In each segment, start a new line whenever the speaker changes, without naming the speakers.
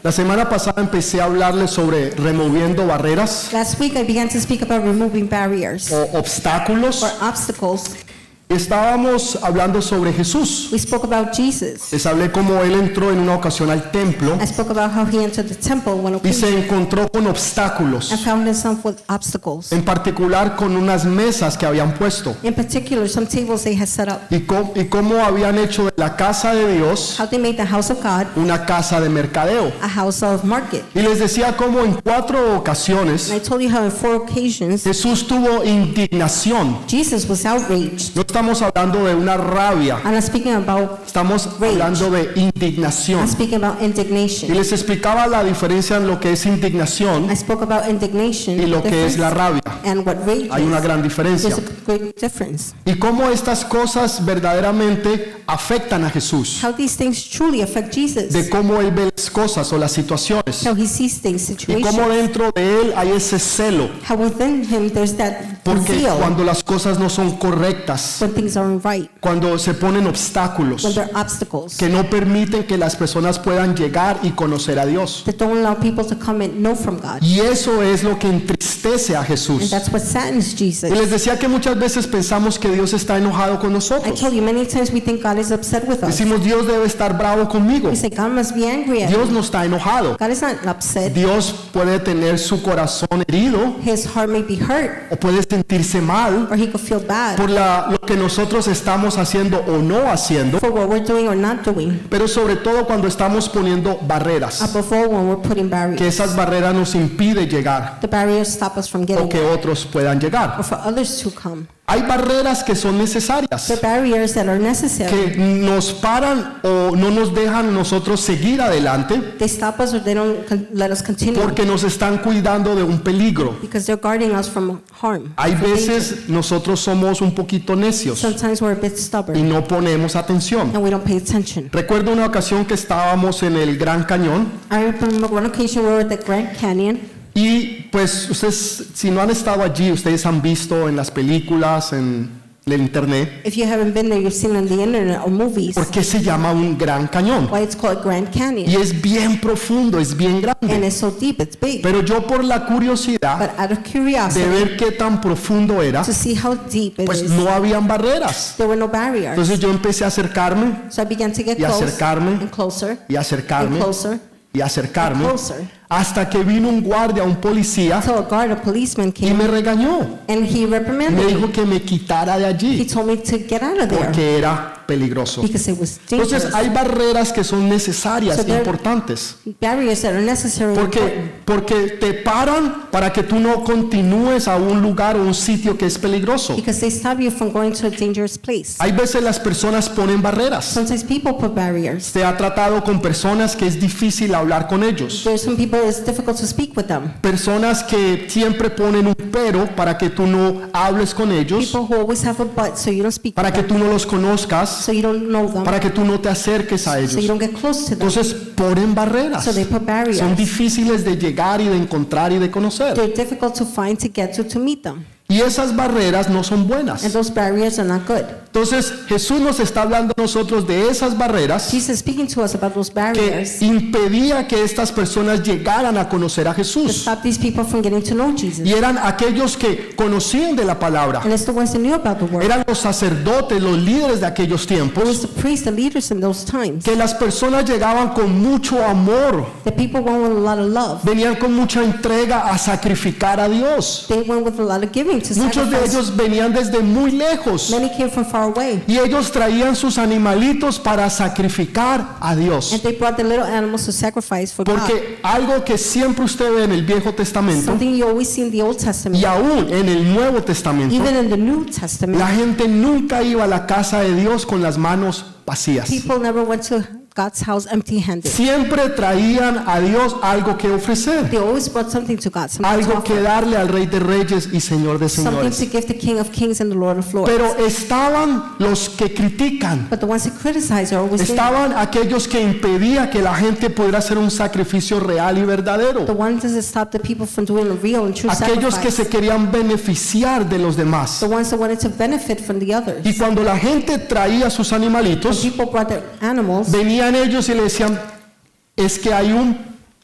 La semana pasada empecé a hablarles sobre removiendo barreras
Last week I began to speak about removing barriers
o obstáculos.
or obstacles.
Estábamos hablando sobre Jesús.
We spoke about Jesus.
Les hablé cómo él entró en una ocasión al templo
I spoke about how he entered the temple one
y
occasion
se encontró con obstáculos,
and found himself with obstacles.
en particular con unas mesas que habían puesto
In particular, some tables they had set up.
y cómo habían hecho de la casa de Dios
How they made the house of God
una casa de mercadeo.
a house of market.
Y les decía cómo en 4 ocasiones
And I told you how in 4 occasions
Jesús tuvo indignación.
Jesus was outraged.
No estamos hablando de una rabia,
I'm not speaking about
estamos hablando de indignación.
I'm speaking about
Y
indignation.
les explicaba la diferencia en lo que es indignación
I spoke about indignation
y lo que es la rabia.
and what rage
Hay una
is.
gran diferencia.
There's a great difference.
Y cómo estas cosas verdaderamente afectan a Jesús.
How these things truly affect Jesus.
De cómo él ve las cosas o las situaciones.
How he sees things,
Y cómo
situations.
dentro de él hay ese celo.
How within him there's that
Porque
zeal
cuando las cosas no son correctas,
when things aren't right,
cuando se ponen obstáculos
when there are obstacles
que no permiten que las personas puedan llegar y conocer a Dios.
that don't allow people to come and know from God.
Y eso es lo que entristece a
And
Jesús.
that's what saddens Jesus.
Y les decía que muchas veces pensamos que Dios está enojado con
I
nosotros.
told you many times we think God is upset with us.
Decimos, Dios debe estar bravo conmigo.
We say God must be angry at
Dios
me.
no está enojado.
God is not upset.
Dios puede tener su corazón herido
His heart may be hurt,
o puede sentirse mal
or he could feel bad
por lo que nosotros estamos haciendo o no haciendo,
for what we're doing or not doing.
pero sobre todo cuando estamos poniendo barreras,
Above all, when we're putting
que
barriers,
esas barreras nos impiden llegar
the barriers stop us from
o
getting
que
there,
otros puedan llegar.
or for others to come.
Hay barreras que son necesarias,
The barriers that are necessary,
que nos paran o no nos dejan nosotros seguir adelante
they stop us or they don't let us continue
porque nos están cuidando de un peligro.
because they're guarding us from harm.
Hay
from danger.
veces nosotros somos un poquito necios
Sometimes we're a bit
y
stubborn
no ponemos atención.
and we don't pay attention.
Recuerdo una ocasión que estábamos en el Gran Cañón
I remember one occasion we were at the Grand Canyon.
y pues ustedes, si no han estado allí, ustedes han visto en las películas, en el internet,
If you haven't been there, you've seen on the internet or movies
¿por qué se llama un Gran Cañón?
why it's called Grand Canyon.
Y es bien profundo, es bien
And
grande.
it's so deep, it's big.
Pero yo por la curiosidad
But out of
de
curiosity,
ver qué tan profundo era,
to see how deep it
pues
is,
no habían barreras.
there were no barriers.
Entonces yo empecé a acercarme
So I began to get
y
close
acercarme
and closer
y
and
acercarme
closer
y
and
acercarme
closer
hasta que vino un guardia, un policía
until a guard, a policeman
y
came
me regañó.
and he
Me
reprimanded
dijo
me.
que me quitara de
He
allí
told me to get out of there
porque era peligroso.
because it was dangerous.
Entonces hay barreras que son necesarias,
So there-
importantes,
Barriers that are necessary and important
porque te paran para que tú no continúes a un lugar o un sitio que es peligroso.
because they stop you from going to a dangerous place.
Hay veces las personas ponen barreras.
Sometimes people put barriers.
Se ha tratado con personas que es difícil hablar con ellos.
There's some people it's difficult to speak with them.
Personas que siempre ponen un pero para que tú no hables con ellos,
People who always have a but, so you don't speak
para
with
que
them,
tú no los conozcas,
so you don't know them,
para que tú no te acerques a
so you
ellos.
don't get close to them.
Entonces ponen barreras.
So they put barriers.
Son difíciles de llegar y de encontrar y de conocer.
They're difficult to find, to get to meet them.
Y esas barreras no son
And
buenas.
those barriers are not good.
Entonces Jesús nos está hablando a nosotros de esas barreras
Jesus is speaking to us about those
que
barriers
impedía que estas personas llegaran a conocer a
to
Jesús.
stop these people from getting to know Jesus.
Y eran aquellos que conocían de la palabra.
And it's the ones that knew about the word.
Eran los sacerdotes, los líderes de aquellos
It was
tiempos,
the priests, the leaders in those times.
que las personas llegaban con mucho amor,
The people went with a lot of love.
venían con mucha entrega a sacrificar a Dios.
They went with a lot of giving to
Muchos de
sacrifice.
ellos venían desde muy lejos
Many came from far away.
y ellos traían sus animalitos para sacrificar a
And
Dios.
they brought the little animals to sacrifice for God.
Porque algo que siempre usted ve en el Viejo Testamento
Something you always see in the Old Testament,
y aún en el Nuevo Testamento,
even in the New Testament,
la gente nunca iba a la casa de Dios con las manos vacías.
people never went to God's house empty-handed.
Siempre traían a Dios algo que ofrecer,
They always brought something to God, something to
algo que
offer,
darle al Rey de Reyes y Señor de
something
Señores.
to give the King of Kings and the Lord of Lords.
Pero estaban los que critican,
But the ones that criticize are always there.
estaban aquellos que impedían que la gente pudiera hacer un sacrificio real y
The
verdadero,
ones that stop the people from doing a real and true
aquellos que
sacrifice.
se querían beneficiar de los demás.
The ones that wanted to benefit from the others.
Y cuando la gente traía sus
When
animalitos,
people brought their animals,
venían ellos y le decían, es que hay un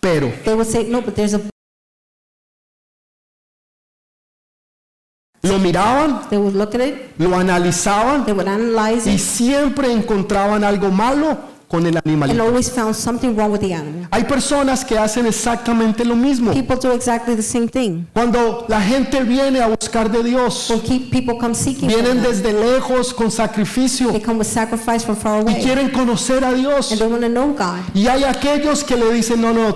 pero.
They would say, no, but there's a.
Lo miraban,
They would look at it,
lo analizaban
they would analyze
y
it,
siempre encontraban algo malo con el
and
animalito.
always found something wrong with the animal.
Hay personas que hacen exactamente lo mismo.
People do exactly the same thing.
Cuando la gente viene a buscar de Dios,
When people come seeking for
vienen
God,
desde lejos con sacrificio
they come with sacrifice from far
y
away,
quieren conocer a Dios.
and they want to know God.
Y hay aquellos que le dicen, no,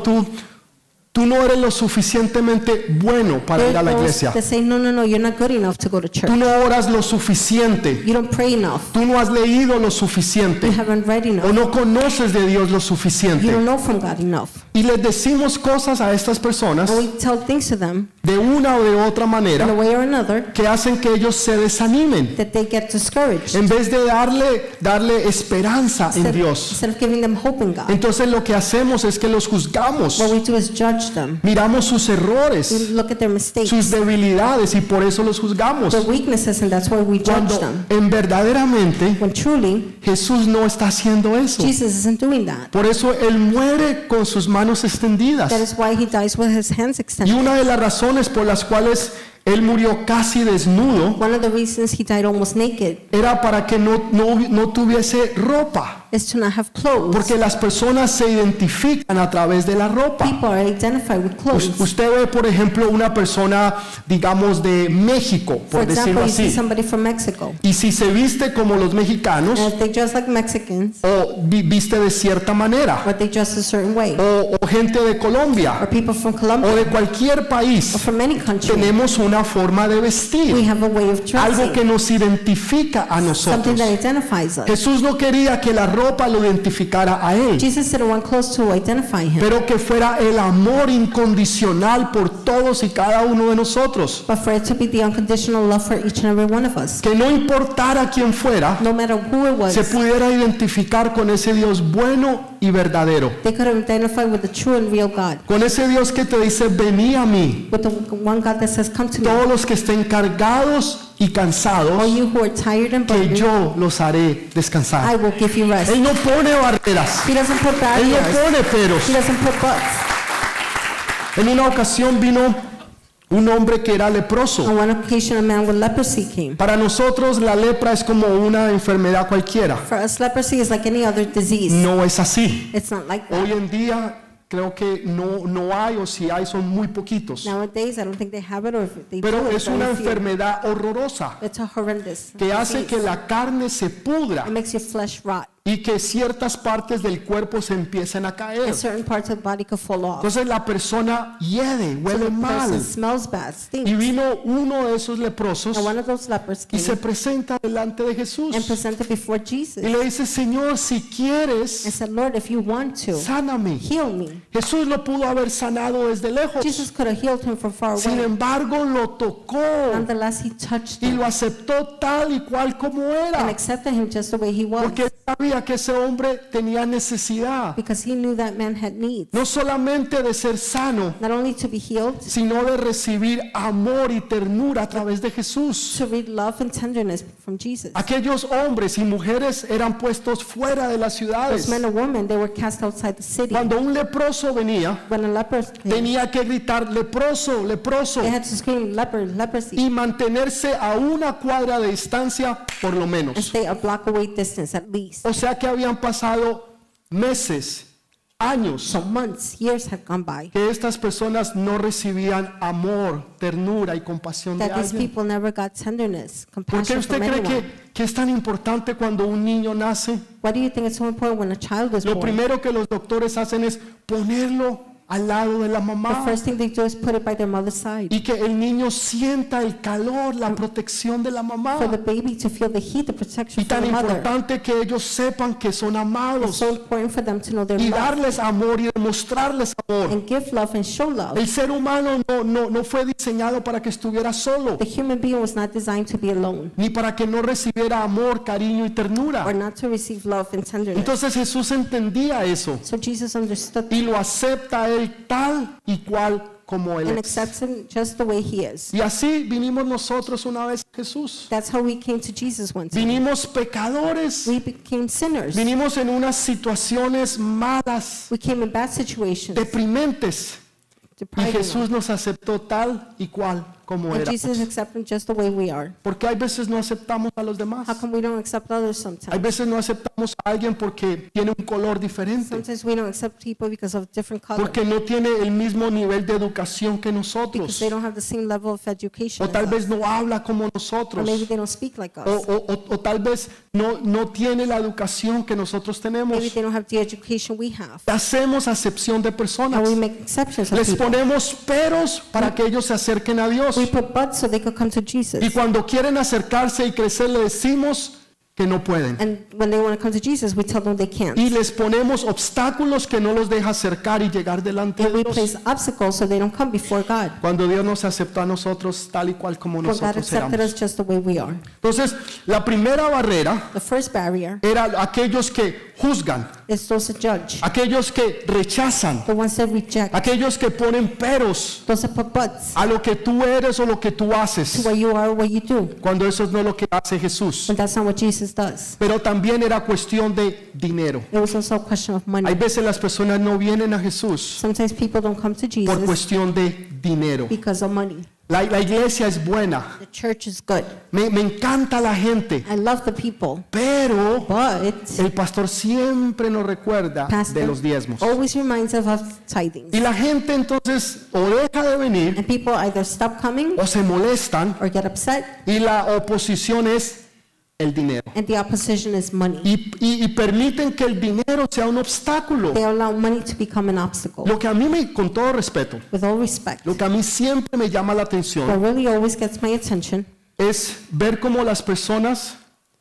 tú no eres lo suficientemente bueno para ir a la iglesia.
They say, no, you're not good enough to go to church.
Tú no oras lo suficiente.
You don't pray enough.
Tú no has leído lo
You
suficiente.
haven't read
O
enough.
no conoces de Dios lo
You
suficiente.
don't know from God enough.
Y les decimos cosas a estas personas
And we tell things to them
de una o de otra
in a
manera
way or another
que hacen que ellos se desanimen
that they get discouraged
en vez de darle esperanza en Dios.
instead of giving them hope in God.
Entonces lo que hacemos es que los juzgamos,
What we do is judge them.
miramos sus
We
errores,
look at their mistakes,
sus debilidades y por eso los juzgamos.
their weaknesses, and that's why we judge
Cuando
them.
en verdaderamente
When truly,
Jesús no está haciendo eso.
Jesus isn't doing that.
Por eso Él muere con sus manos extendidas.
That is why he dies with his hands
Y
extended.
una de las razones por las cuales Él murió casi desnudo
One of the reasons he died almost naked
era para que no tuviese ropa.
is to not have clothes.
Porque las personas se identifican a través de la ropa.
People are identified with clothes.
Usted ve, por ejemplo, una persona, digamos, de México,
For
por decirlo
example, you see
así.
somebody from Mexico,
Y si se viste como los mexicanos,
and if they dress like Mexicans,
o viste de cierta manera,
or they dress a certain way,
o gente de
or
Colombia,
people from
o
Colombia,
de cualquier
or
país,
from any country,
tenemos una forma de
we
vestir,
have a way of
algo que
dressing,
nos identifica a
something
nosotros.
that identifies us.
Jesús no quería que la ropa lo identificara a Él,
Jesus didn't want clothes to identify him,
pero que fuera el amor incondicional por todos y cada uno de nosotros.
but for it to be the unconditional love for each and every one of us.
Que no importara quién fuera,
No matter who it was,
se pudiera identificar con ese Dios bueno y verdadero.
they could identify with the true and real God,
Con ese Dios que te dice, vení a mí,
with the one God that says, come to me,
todos los que estén cargados y
all
cansados,
you who are tired and
que
burdened,
yo los haré
I
descansar.
will give you rest.
Él no pone barreras,
He doesn't put
Él no
barriers.
pone peros.
He doesn't put buts.
En una ocasión vino un hombre que era leproso.
On one occasion, a man with leprosy came.
Para nosotros la lepra es como una enfermedad cualquiera.
For us, leprosy is like any other disease.
No es así.
It's not like
Hoy
that.
en día creo que no hay, o si hay son muy poquitos.
Nowadays, I don't think they have it, or if they
Pero
do,
es
it's
una
very few.
enfermedad horrorosa
It's a horrendous
que hace
disease.
que la carne se pudra
It makes your flesh rot,
y que ciertas partes del cuerpo se empiecen a caer.
and certain parts of the body could fall off.
Entonces la persona hiede,
So
huele
the
mal.
person smells bad,
Y
stinks.
vino uno de esos leprosos
And one of those lepers
y
came
se presenta delante de Jesús
and presented before Jesus
y le dice, Señor, si
and
quieres,
said, Lord, if you want to,
sáname.
heal me.
Jesús lo pudo haber sanado desde lejos.
Jesus could have healed him from far
Sin
away.
embargo, lo tocó
Nonetheless, he touched
y
him
lo aceptó tal y cual como
and
era.
accepted him just the way he was,
Porque sabía que ese hombre tenía necesidad,
because he knew that man had needs,
no solamente de ser sano,
not only to be healed,
sino de recibir amor y ternura a través de Jesús.
to read love and tenderness from Jesus.
Aquellos hombres y mujeres eran puestos fuera de las
Those
ciudades.
men and women, they were cast outside the city.
Cuando un leproso venía,
When a leper came,
tenía que gritar, leproso, leproso,
they had to scream, leper, leprosy,
y mantenerse a una cuadra de distancia por lo
and
menos.
stay a block away distance at least.
O sea que habían pasado meses, años,
So months, years had gone by,
que estas personas no recibían amor, ternura y compasión de
that these
alguien.
people never got tenderness,
¿Por qué
compassion
usted
from
cree
anyone.
que es tan importante cuando un niño nace?
Why do you think it's so important when a child is
Lo
born?
primero que los doctores hacen es ponerlo al lado de la
The
mamá
first thing they do is put it by their mother's side,
y que el niño sienta el calor, la protección de la mamá.
for the baby to feel the heat, the protection
Y
from
tan
the mother.
importante que ellos sepan que son
It's
amados
so important for them to know their
y
love
darles amor y demostrarles amor.
and give love and show love.
El ser humano no fue diseñado para que estuviera solo,
The human being was not designed to be alone,
ni para que no recibiera amor, cariño y
or
ternura.
not to receive love and tenderness.
Entonces Jesús entendía eso
So Jesus understood
y lo acepta a él tal y cual como Él
and
es.
accepts him just the way he is.
Y así vinimos nosotros una vez a Jesús.
That's how we came to Jesus one time.
Vinimos pecadores.
We became sinners.
Vinimos en unas situaciones malas,
We came in bad situations.
deprimentes. Y
depriving
Jesús
us.
nos aceptó tal y cual como
And
éramos.
Jesus accepted us just the way we are.
Porque hay veces no aceptamos a los demás.
How come we don't accept others
Hay
sometimes?
veces no aceptamos a alguien porque tiene un color diferente.
Sometimes we don't accept people because of different color.
Porque no tiene el mismo nivel de educación que
Because
nosotros.
they don't have the same level of education
O tal
as
vez
us.
no habla como
Or
nosotros.
maybe they don't speak like us.
O tal vez no tiene la educación que nosotros tenemos.
Maybe they don't have the education we have.
Hacemos acepción de personas.
And we make exceptions of
Les
people.
ponemos peros para que ellos se acerquen a Dios.
We put buts so they could come to Jesus.
Y cuando quieren acercarse y crecer, le decimos que no pueden.
And when they want to come to Jesus, we tell them they can't.
Y les ponemos obstáculos que no los deja acercar y llegar delante
And
de
we
Dios.
place obstacles so they don't come before God.
Cuando Dios nos aceptó a nosotros tal y cual como
For God
nosotros
accepted
éramos.
us just the way we are.
Entonces, la primera barrera
The first barrier
era aquellos que juzgan,
is those that judge,
aquellos que rechazan,
the ones that reject,
aquellos que ponen peros
those that put buts
a lo que tú eres o lo que tú
to
haces,
what you are, what you do.
cuando eso no es lo que hace Jesús.
But that's not what Jesus does.
Pero también era cuestión de dinero.
It was also a question of
Hay
money.
veces las personas no vienen a Jesús
Sometimes people don't come to
por
Jesus
cuestión de dinero.
because of money.
La iglesia es buena,
The church is good.
me encanta la gente,
I love the people,
pero
but
el pastor siempre nos recuerda de
pastor
los diezmos.
always reminds us of tithings.
Y la gente entonces o deja de venir
And people either stop coming
o se molestan
or get upset,
y la oposición es el dinero.
and the opposition is money.
Y permiten que el dinero sea un obstáculo.
They allow money to become an obstacle.
Lo que a mí, con todo respeto,
With all respect,
lo que a mí siempre me llama la
what
atención
really always gets my attention
es ver cómo las personas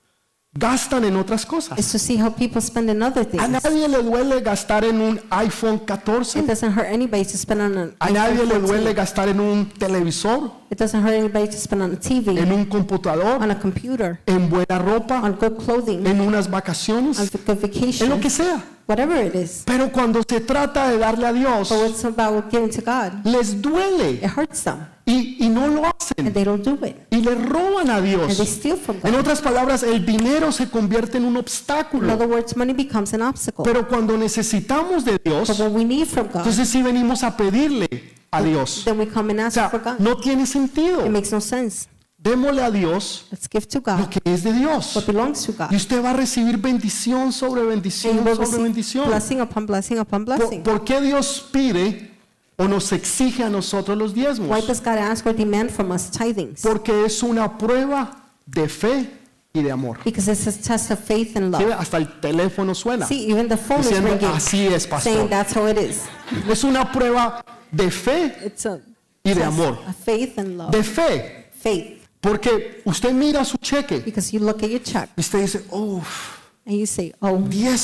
gastan en otras cosas.
is to see how people spend on other
A
things.
nadie le duele gastar en un iPhone
It
14.
doesn't hurt anybody to spend on an
A nadie
iPhone
le duele
14.
gastar en un televisor,
It doesn't hurt anybody to spend on a
en
TV,
un computador,
on a computer,
en buena ropa,
on good clothing,
en unas
on
vacaciones,
good
en lo
vacation,
que sea.
whatever it is.
Pero cuando se trata de darle a Dios,
But it's about giving to God.
les duele
It hurts them,
y no lo
and
hacen
they don't do it,
y le roban a
and they
Dios.
steal from
En
God.
otras palabras, el dinero se convierte en un
In
obstáculo.
other words, money becomes an obstacle.
Pero cuando necesitamos de Dios,
But when we need from God,
entonces sí venimos a pedirle a Dios.
then we come and
O
ask
sea,
for God.
no tiene sentido.
It makes no sense.
Démosle a Dios
Let's give to
lo
God
que es de Dios.
what belongs to God.
Y usted va a recibir bendición sobre
And you
bendición
will
sobre
receive
bendición.
blessing upon blessing upon blessing.
¿Por qué Dios pide o nos exige a nosotros los
Why
diezmos?
does God ask or demand from us tithings?
Porque es una prueba de fe y de amor.
Because it's a test of faith and
¿Sí?
love.
Hasta el teléfono suena
See, even the phone is
diciendo,
ringing,
así es,
saying
pastor.
that's how it is.
Es una prueba de fe
It's a
y de
test
amor.
of faith and love.
De fe.
Faith.
Porque usted mira su cheque
Because you look at your check
y usted dice, uff,
and you say, oh,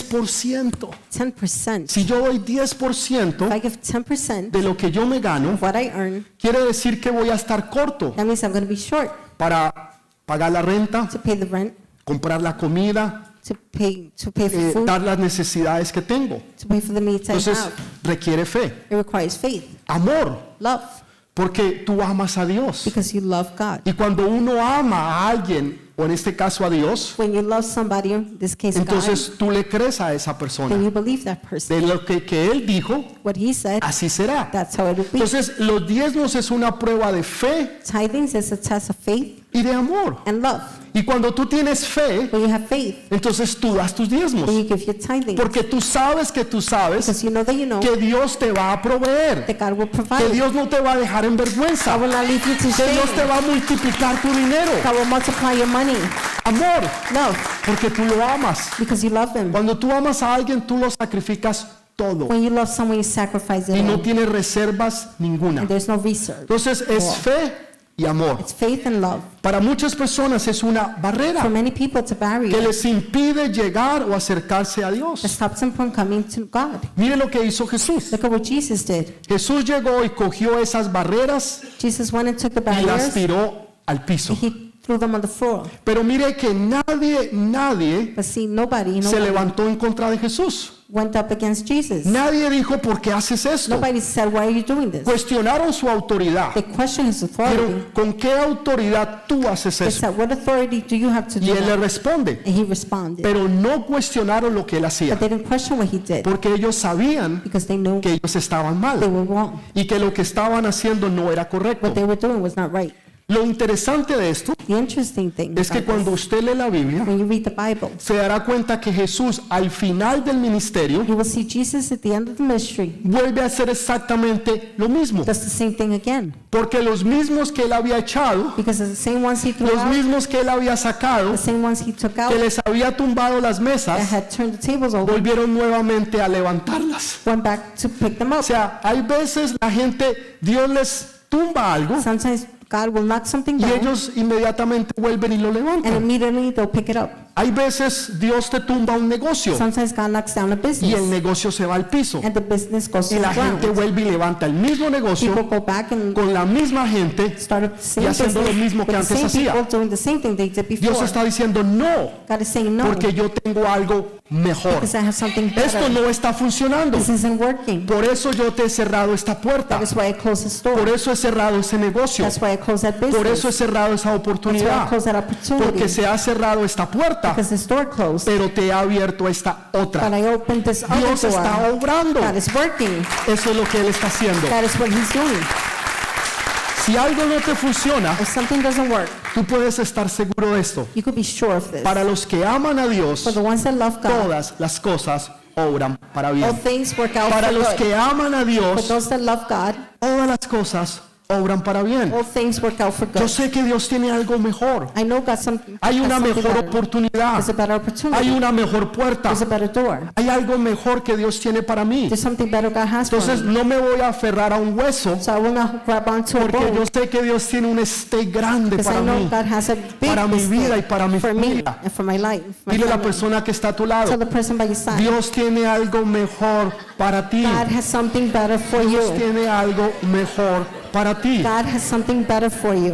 10%.
10%.
Si yo doy
If
10%
I give 10%
de lo que yo me gano,
of what I earn,
quiere decir que voy a estar corto
that means I'm going to be short
para pagar la renta,
to pay the rent,
comprar la comida,
to pay for food,
dar las necesidades que tengo.
to pay for the needs I
Entonces
have.
requiere fe,
It requires faith,
amor,
love,
porque tú amas a Dios.
because you love God.
Y cuando uno ama a alguien, o en este caso a Dios,
When you love somebody, in this case God,
entonces tú le crees a esa
then
persona.
you believe that person.
De lo que él dijo,
What he said,
así será.
that's how it will be.
Entonces los diezmos es una prueba de fe
Tithings is a test of faith
y de amor.
and love.
Y cuando tú tienes fe,
When you have faith,
entonces tú das tus diezmos.
then you give your tithing.
Porque tú sabes
Because you know
que Dios te va a proveer.
that God will
Que
provide.
Dios no te va a dejar en vergüenza.
God will not leave you to
Que Dios te
shame.
va a multiplicar tu dinero.
God will multiply your money.
Amor,
Love,
porque tú lo amas.
because you love Him.
Cuando tú amas a alguien, tú lo sacrificas todo.
When you love someone, you sacrifice it
Y no
all.
tienes reservas ninguna.
And there's no reserve.
Entonces es fe y amor.
It's faith and love.
Para muchas personas es una
For
barrera
many people, it's a
que
barrier
les impide llegar o acercarse a
that
Dios.
stops them from coming to God.
Mire lo que hizo Jesús.
Look at what Jesus did.
Jesús llegó y cogió esas barreras
Jesus went and took the
y las
barriers,
tiró al piso.
and He threw them on the floor.
Pero mire que nadie
But see, nobody
se levantó en contra de Jesús.
went up against Jesus.
Nadie dijo, ¿por qué haces esto?
Nobody said, why are you doing this?
Cuestionaron su autoridad.
They questioned his authority.
Pero ¿con qué autoridad tú haces
They
eso?
said, what authority do you have to
Y
do
él le
that?
responde.
And he responded.
Pero no cuestionaron lo que él hacía.
But they didn't question what he did
Porque ellos sabían
because they knew
que ellos estaban
they
mal.
were wrong.
Y que lo que estaban haciendo no era correcto.
What they were doing was not right.
Lo interesante de esto
The interesting thing
es que
about
cuando
this,
usted lee la Biblia,
when you read the Bible,
se dará cuenta que Jesús al final del ministerio
you will see Jesus at the end of the ministry
vuelve a hacer exactamente lo mismo.
does the same thing again.
Porque los mismos que él había echado,
Because the same ones he threw
los
out,
mismos que él había sacado,
the same ones he took out,
que les había tumbado las
that
mesas,
had turned the tables over,
volvieron nuevamente a levantarlas.
went back to pick them
O
up.
sea, hay veces la gente, Dios les tumba algo
Sometimes God will knock something
y
down,
ellos inmediatamente vuelven y lo
and
levantan.
immediately they'll pick it up.
Hay veces Dios te tumba un negocio
Sometimes God knocks down a
y el
business,
negocio se va al piso.
and the business goes
Y
to
la
the
gente
ground.
vuelve y levanta el mismo
People
negocio
go back and
con la misma gente.
start up the same
y haciendo
business
lo mismo que
with the
antes
same
hacía.
people doing the same thing they did
Dios
before.
está diciendo no,
God is saying no,
porque yo tengo algo mejor.
because I have something
Esto
better.
no está funcionando.
This isn't working.
Por eso yo te he cerrado esta puerta.
That is why I closed the
Por
store.
eso he cerrado ese negocio.
That's why I closed that
Por eso he
business.
cerrado esa
That's why I
oportunidad.
closed that
Porque
opportunity.
se ha cerrado esta puerta,
Because the store closed.
pero te ha abierto esta
But
otra.
I opened this other
Dios está
door.
obrando.
God is working.
Eso es lo que Él está haciendo.
That is what He's doing.
Si algo no te funciona,
If something doesn't work,
tú puedes estar seguro de esto.
you could be sure of this.
Para los que aman a Dios,
For the ones that love God,
todas las cosas obran para
all
bien.
things work out
Para
for
los
good.
que aman a
For
Dios,
those that love God,
todas las cosas obran para bien.
all things work out for
Yo
good.
sé que Dios tiene algo mejor.
I know God something.
Hay una
has something
mejor
better.
oportunidad.
There's a better
Hay
opportunity.
una mejor puerta.
There's a better door.
Hay algo mejor que Dios tiene para mí.
There's something better God has for
Entonces
me.
no me voy a aferrar a un hueso,
So I will not grab onto a
porque yo
bone,
sé que Dios tiene un esté grande
because
para
I know
mí.
God has a big
para mi vida y
mistake
para mi
for me
familia.
and for my life. my
Dile a la
family.
persona que está a tu lado,
Tell the person by your side,
Dios tiene algo mejor para ti.
God has something better for
Dios
you.
tiene algo mejor para ti.
God has something better for you.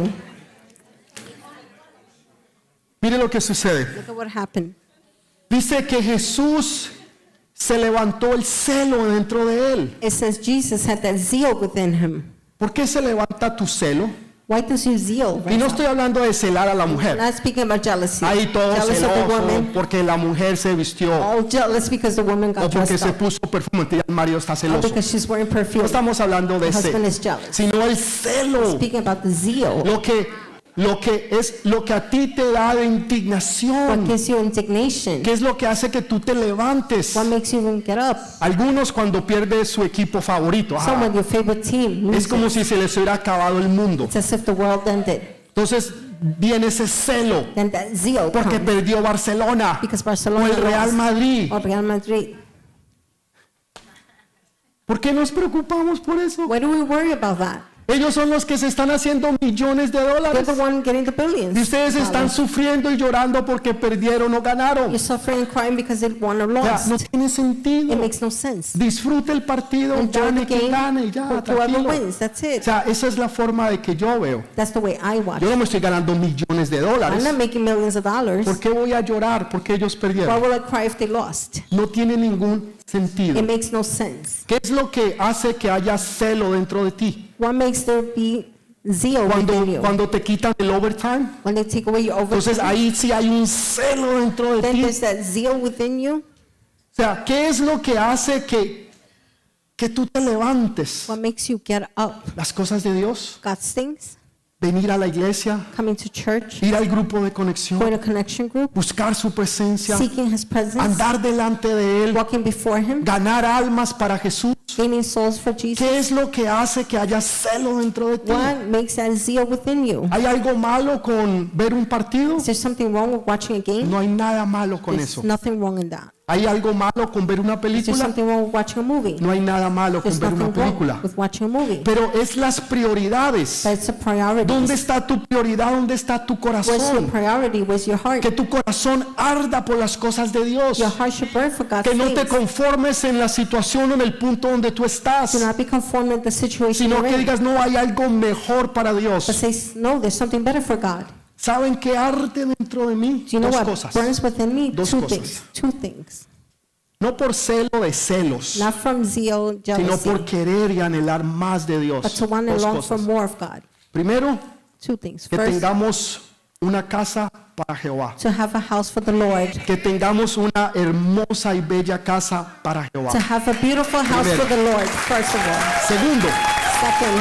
Mire lo que sucede.
Look at what happened.
Dice que Jesús se levantó el celo dentro de él.
It says Jesus had that zeal within him.
¿Por qué se levanta tu celo?
Why does your zeal
Y
rise
no
up?
estoy hablando de celar a la
I'm
mujer.
not speaking about jealousy.
Ahí todo
Jealous of the
celoso
woman.
porque la mujer se vistió
All jealous because the woman
o
got
porque
dressed
se
up.
puso perfume. Ya el marido está
Or
celoso.
because she's wearing
No
perfume.
estamos hablando de
The husband
ese,
is jealous.
sino el celo.
Speaking about the zeal.
Lo que a ti te da de
What
indignación.
gives you indignation?
¿Qué es lo que hace que tú te levantes?
What makes you even get up?
Algunos cuando pierde su equipo favorito,
Some when your favorite team
es como
loses.
si se les hubiera acabado el mundo.
It's as if the world ended.
Entonces viene ese celo
Then that zeal
porque
comes
perdió Barcelona
because
o
Barcelona
el Real
lost
Madrid.
or Real Madrid.
¿Por qué nos preocupamos por eso?
Why do we worry about that?
Ellos son los que se están haciendo millones de
You're
dólares.
the one getting the billions.
Y ustedes están
dollars.
sufriendo y llorando porque perdieron o ganaron.
You're suffering and crying because they won or
O sea,
lost.
no tiene sentido.
It makes no sense.
Disfrute el partido,
Enjoy
gane
the
quien
game.
gane y ya,
Whoever
tranquilo.
wins, that's
O
it.
sea, esa es la forma de que yo veo.
That's the way I watch.
Yo no me estoy ganando millones de
I'm
dólares.
not making millions of dollars.
¿Por qué voy a llorar? Porque ellos
Why
perdieron.
will I cry if they lost?
No tiene ningún sentido.
It makes no sense.
¿Qué es lo que hace que haya celo dentro de ti?
What makes there be zeal within you?
Cuando te quitan el overtime,
When they take away your
entonces
overtime,
ahí sí hay un celo dentro de
then
ti.
there's that zeal within you.
O sea, ¿qué es lo que hace que tú te levantes?
What makes you get up?
Las cosas de Dios,
God's things,
venir a la iglesia,
coming to church,
ir al grupo de conexión,
going to connection group,
buscar su presencia,
seeking His presence,
andar delante de Él,
walking before Him,
ganar almas para Jesús.
gaining souls for Jesus.
¿Qué es lo que hace que haya celo dentro de ti?
What makes that zeal within you?
¿Hay algo malo con ver un partido?
Is there something wrong with watching a game?
No hay nada malo con
There's
eso.
nothing wrong in that.
¿Hay algo malo con ver una
Is there
película?
something wrong with watching a movie?
No hay nada malo con
There's
ver una
nothing wrong
película.
with watching a movie.
Pero es las prioridades.
But it's a priority.
¿Dónde está tu prioridad? ¿Dónde está tu
Where's your
corazón?
priority? Where's your heart?
Que tu corazón arda por las cosas de Dios.
Your heart should burn for God's
Que no te
things.
conformes en la situación o en el punto donde tú
Do
estás,
not be conformed with the situation
sino
you're
que
in.
digas, no, hay algo mejor para
But
Dios.
say, no, there's something better for God.
¿Saben qué arde dentro de mí?
Do you know
Dos
what
cosas.
burns within me?
Dos
Two
cosas.
things. Two things.
No por celo de celos,
Not from zeal,
sino
jealousy,
por querer y anhelar más de Dios.
but to want and
Dos
long for
cosas.
more of God.
Primero,
Two things.
que
First,
tengamos una casa para Jehová.
to have a house for the Lord.
Que tengamos una hermosa y bella casa para Jehová.
To have a beautiful house
Primero.
for the Lord, first of all.
Segundo,
Second,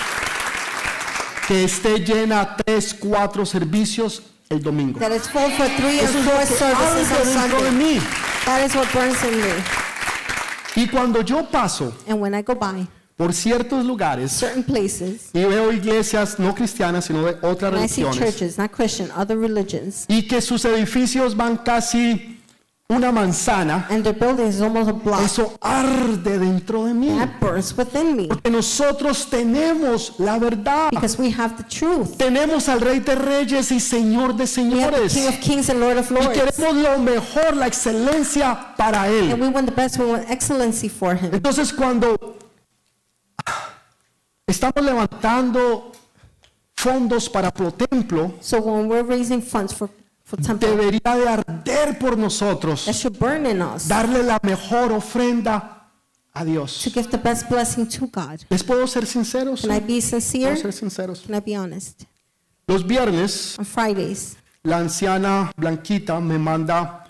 que esté llena 3, 4 servicios el domingo.
that it's full for 3 and
Eso es
4
lo que
services
arde
on
dentro de
Sunday.
mí.
That is what burns in me.
Y cuando yo paso
And when I go by
por ciertos lugares
certain places,
y veo iglesias no cristianas, sino de otras
and I see
religiones,
churches, not Christian, other religions,
y que sus edificios van casi una manzana,
and their buildings is almost a block,
eso arde dentro de mí.
that burns within me.
Porque nosotros tenemos la verdad.
Because we have the truth.
Tenemos al Rey de Reyes y Señor de
We have the
Señores.
King of Kings and Lord of
Y
Lords.
queremos lo mejor, la excelencia para
And
Él.
we want the best, we want excellency for Him.
Entonces cuando estamos levantando fondos para Pro Templo,
So when we're raising funds for temple,
debería de arder por nosotros,
that should burn in us
darle la mejor ofrenda a Dios.
to give the best blessing to God.
¿Les puedo ser sinceros?
Can I be sincere?
¿Puedo ser sinceros?
Can I be honest?
Los viernes,
On Fridays,
la anciana Blanquita me manda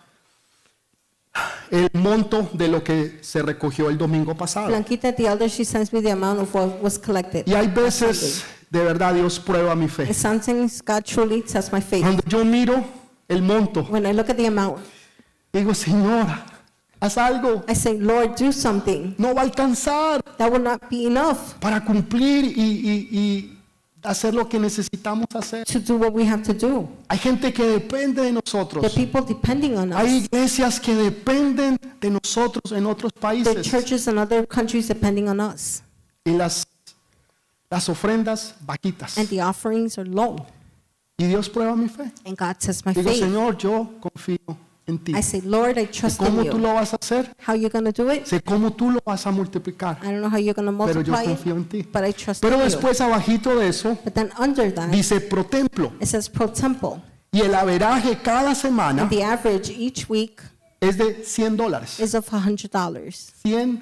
el monto de lo que se recogió el domingo pasado.
Blanquita, the elder, she sends me the amount of what was collected.
Y hay
on
veces, de verdad, Dios prueba mi fe.
Sunday. Sometimes God truly tests my faith.
Cuando yo miro el monto,
When I look at the amount,
digo, Señora, haz algo.
I say, Lord, do something.
No va a alcanzar
That will not be enough
para cumplir y hacer lo que necesitamos hacer.
to do what we have to do.
Hay gente que depende de
There are
nosotros.
people depending on
Hay
us.
iglesias que dependen de nosotros en otros
There are
países.
churches in other countries depending on us.
Y las ofrendas vaquitas.
And the offerings are low.
Y Dios prueba mi fe.
And God tests my
Digo,
faith.
Señor, yo confío en ti.
I say, Lord, I trust in
¿Cómo tú
you.
lo vas a hacer?
How you going to do it?
Sé cómo tú lo vas a multiplicar.
I don't know how you're going to
Pero yo
multiply
confío en
it,
ti.
but I trust
Pero
in you.
después, abajito de eso,
But then under that,
dice Pro Templo.
it says pro temple.
Y el averaje cada semana
And the average each week
es de $100.
is of $100.
$100.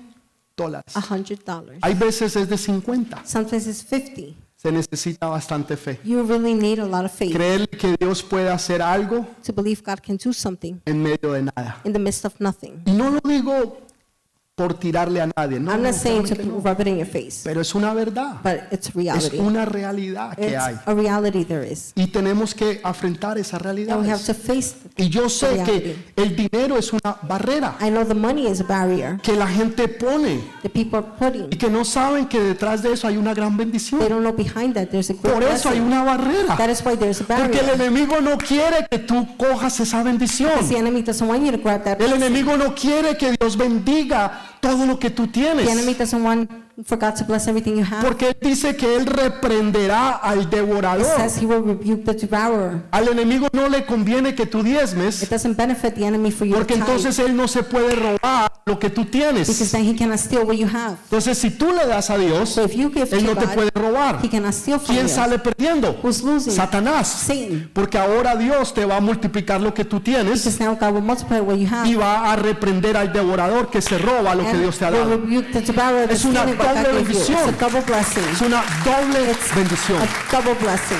$100.
Hay veces es de 50.
Sometimes it's 50.
Se necesita bastante fe.
You really need a lot of faith
Creer que Dios puede hacer algo
to believe God can do something
en medio de nada.
in the midst of nothing.
Y no lo digo por tirarle a nadie, no,
I'm
no,
not saying to
créanme que no.
rub it in your face,
Pero es una verdad.
but it's a
Es
reality.
una realidad que
It's
hay.
a reality there is.
Y tenemos que afrontar esa realidad.
And we have to face it.
Y yo sé
reality.
que el dinero es una barrera
I know the money is a barrier
que la gente pone
that people are putting.
y que no saben que detrás de eso hay una gran
They
bendición.
don't know behind that there's a great
Por eso hay
blessing.
una barrera.
That is why there's a
Porque el
barrier.
enemigo no quiere que tú cojas esa bendición.
Because the enemy doesn't want you to grab that
El
blessing.
enemigo no quiere que Dios bendiga todo lo que tú tienes.
The enemy doesn't want for God to bless everything you have.
Porque él dice que él reprenderá al
It
devorador.
says he will rebuke the devourer.
Al enemigo no le conviene que tú
It
diezmes,
doesn't benefit the enemy for you to
porque
tithe,
entonces él no se puede robar lo que tú
because
tienes.
then he cannot steal what you have.
Entonces, si tú le das a Dios,
So if you give
él
to
no te
God,
puede robar.
he cannot steal from
¿Quién
you.
sale perdiendo?
Who's losing?
Satanás.
Satan.
Porque ahora Dios te va a multiplicar lo que tú tienes
Because now God will multiply what you have.
y va a reprender al devorador que se roba lo que
And
Dios te ha
will
dado.
rebuke the devourer that's
Es una
stealing what God
doble
gave you. It's a
bendición.
double blessing.
Es una doble
It's
bendición.
a double blessing.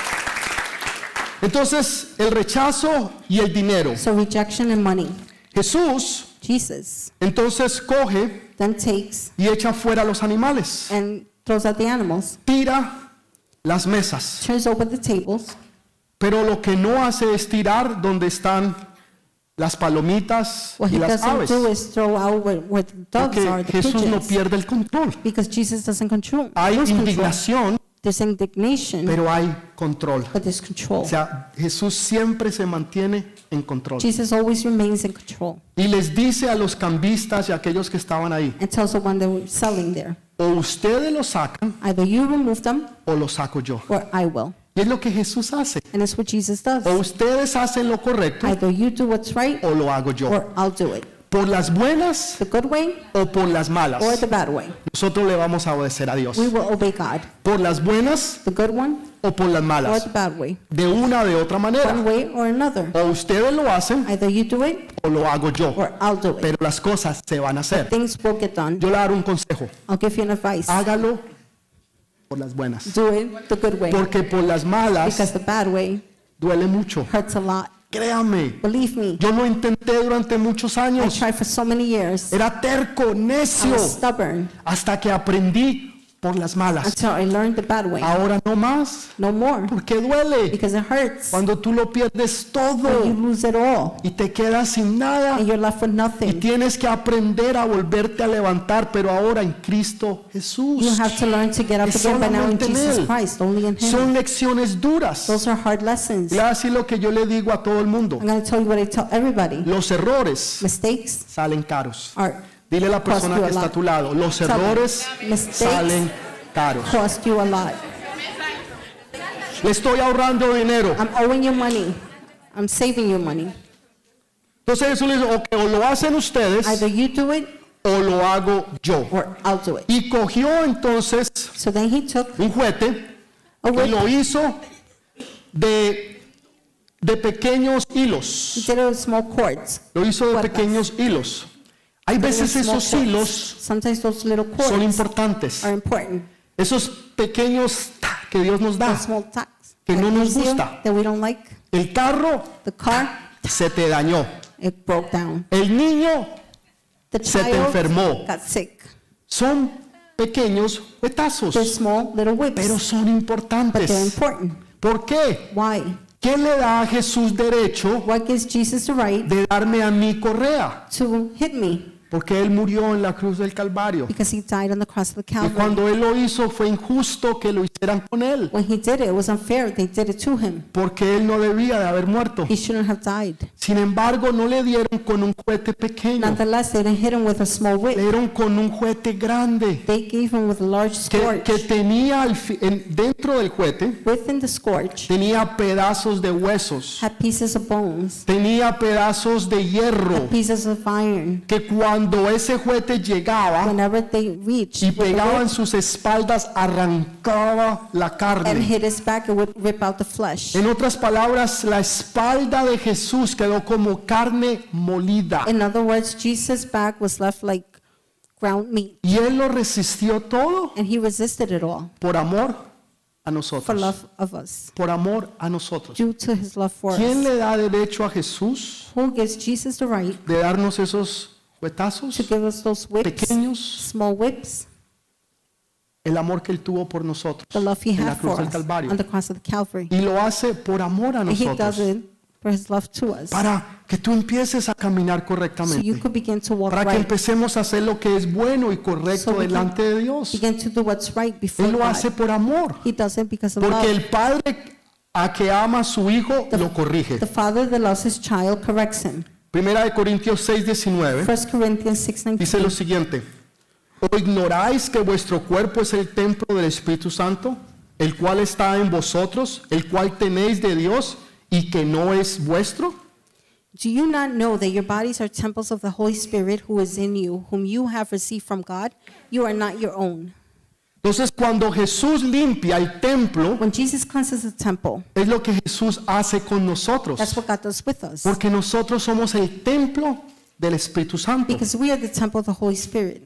Entonces, el rechazo y el dinero.
So rejection and money.
Jesús
Jesus
entonces coge
then takes
y echa fuera los animales.
and throws out the animals,
Tira las mesas.
turns over the tables,
Pero lo que no hace es tirar donde están las palomitas
what
y
he
las
doesn't
aves.
do is throw out where the dogs
Porque
are, the
Jesús no
pigeons,
pierde el control.
because Jesus doesn't control.
Hay
lose control.
indignación,
There's indignation,
pero hay control.
but there's control.
O sea, Jesús siempre se mantiene en control.
Jesus always remains in control
Y les dice a los cambistas y a aquellos que estaban ahí,
and tells the one that were selling there,
o ustedes lo sacan
either you remove them
o lo saco yo.
or I will.
Y es lo que Jesús hace.
And it's what Jesus does.
O ustedes hacen lo correcto
Either you do what's right
o lo hago yo.
or I'll do it.
por las buenas
the good way
o por las malas.
or the bad way.
Nosotros le vamos a obedecer a Dios.
We will obey God.
Por las buenas
The good one
o por las
or
malas.
the bad way.
De una o de otra
One
manera.
way or another.
O ustedes lo hacen
Either you do it
o lo hago yo.
or I'll do it.
Pero las cosas se van a hacer.
Things will get done.
Yo le daré un consejo.
I'll give you an advice.
Hágalo por las buenas.
Do it the good way.
Porque por las malas
Because the bad way
duele mucho.
hurts a lot.
Créame.
Believe me,
Yo lo intenté durante muchos
I
años.
tried for so many years.
Era terco,
I
necio.
was stubborn
Hasta que aprendí por las malas.
until I learned the bad way.
Ahora no más.
No more.
Porque duele.
Because it hurts.
Cuando tú lo pierdes
When you
todo
lose it all
y te quedas sin nada.
and you're left with
Y
nothing.
tienes que aprender a volverte a levantar, pero ahora en Cristo
You
Jesús.
have to learn to get up
Es
again, but now in
solamente en
Jesus
Él.
Christ, only in Him.
Son lecciones duras.
Those are hard lessons.
Le voy a decir lo que yo le digo a todo el mundo.
I'm going to tell you what I tell everybody.
Los errores
Mistakes
salen caros.
are
Dile a la persona
Cost you
que
a
está a
lot.
tu lado, los
Tell them.
errores
Mistakes
salen caros.
cost you a lot.
Le estoy ahorrando dinero.
I'm owing you money. I'm saving you money.
Entonces Jesús le dice, ok, o lo hacen ustedes
Either you do it
o lo hago yo.
or I'll do it.
Y cogió entonces
So then he took
un juguete
a
y
whip.
lo hizo de pequeños
He
hilos.
did it with small cords.
Lo hizo de
Cuerdas.
pequeños hilos. Hay
With
veces
small
esos
cords.
hilos
Sometimes those little
son
cords
importantes.
are important.
Esos pequeños que Dios nos da.
Those small tacks
Que no
that
nos
gives you
gusta.
that we don't like.
El carro
The car,
se te dañó.
it broke down.
El niño
The
se te
child
enfermó.
got sick.
Son pequeños
They're
huetazos,
small little whips,
pero son
but they're
importantes.
important.
¿Por qué?
Why?
¿Qué le da a Jesús derecho
What gives Jesus the right
de darme a mi correa?
to hit me?
Porque Él murió en la cruz del Calvario.
Because he died on the cross of the
Y
Calvary.
cuando Él lo hizo fue injusto que lo hicieran con Él.
When he did it, it was unfair. They did it to him.
Porque Él no debía de haber muerto.
He shouldn't have died.
Sin embargo, no le dieron con un cohete pequeño.
Nonetheless, they didn't hit him with a small
Le
whip.
dieron con un cohete grande.
They gave him with a large
Que
scourge.
tenía dentro del cohete,
Within the scourge,
tenía pedazos de huesos.
had pieces of bones,
Tenía pedazos de hierro.
pieces of iron.
Que cuando ese cohete llegaba
Whenever they reached
y
with the
pegaba en
whip
sus espaldas, arrancaba la
and
carne.
hit his back, it would rip out the flesh.
En otras palabras, la espalda de Jesús quedó como carne molida.
In other words, Jesus' back was left like ground meat,
Y Él lo resistió todo
and he resisted it all
por amor a
for
nosotros.
love of us,
Por amor a nosotros.
due to his love for
¿Quién
us.
le da derecho a Jesús
Who gives Jesus the right
de darnos esos huetazos
to give us those whips,
pequeños?
small whips,
El amor que Él tuvo por nosotros
the love he
en la
had
cruz
for
del
us
Calvario.
on the cross of the Calvary?
Y lo hace por amor a
And he does
nosotros.
it for his love to us,
Para que tú empieces a caminar
so you
correctamente.
could begin to walk
Para que
right,
empecemos a hacer lo que es bueno y
So
correcto
we can
delante de Dios.
begin to do what's right before
Él lo
God.
hace por amor.
He does it because of
Porque
love.
el Padre a que ama a su Hijo lo corrige.
The father that loves his child corrects him.
Primera de Corintios 6:19
1 Corinthians 6:19.
dice lo siguiente. ¿O ignoráis que vuestro cuerpo es el templo del Espíritu Santo, el cual está en vosotros, el cual tenéis de Dios y que no es vuestro?
Do you not know that your bodies are temples of the Holy Spirit who is in you, whom you have received from God? You are not your own.
Entonces, cuando Jesús limpia el templo,
When Jesus cleanses the temple,
es lo que Jesús hace con nosotros.
that's what God does with us.
Porque nosotros somos el templo del Espíritu Santo.
Because we are the temple of the Holy Spirit.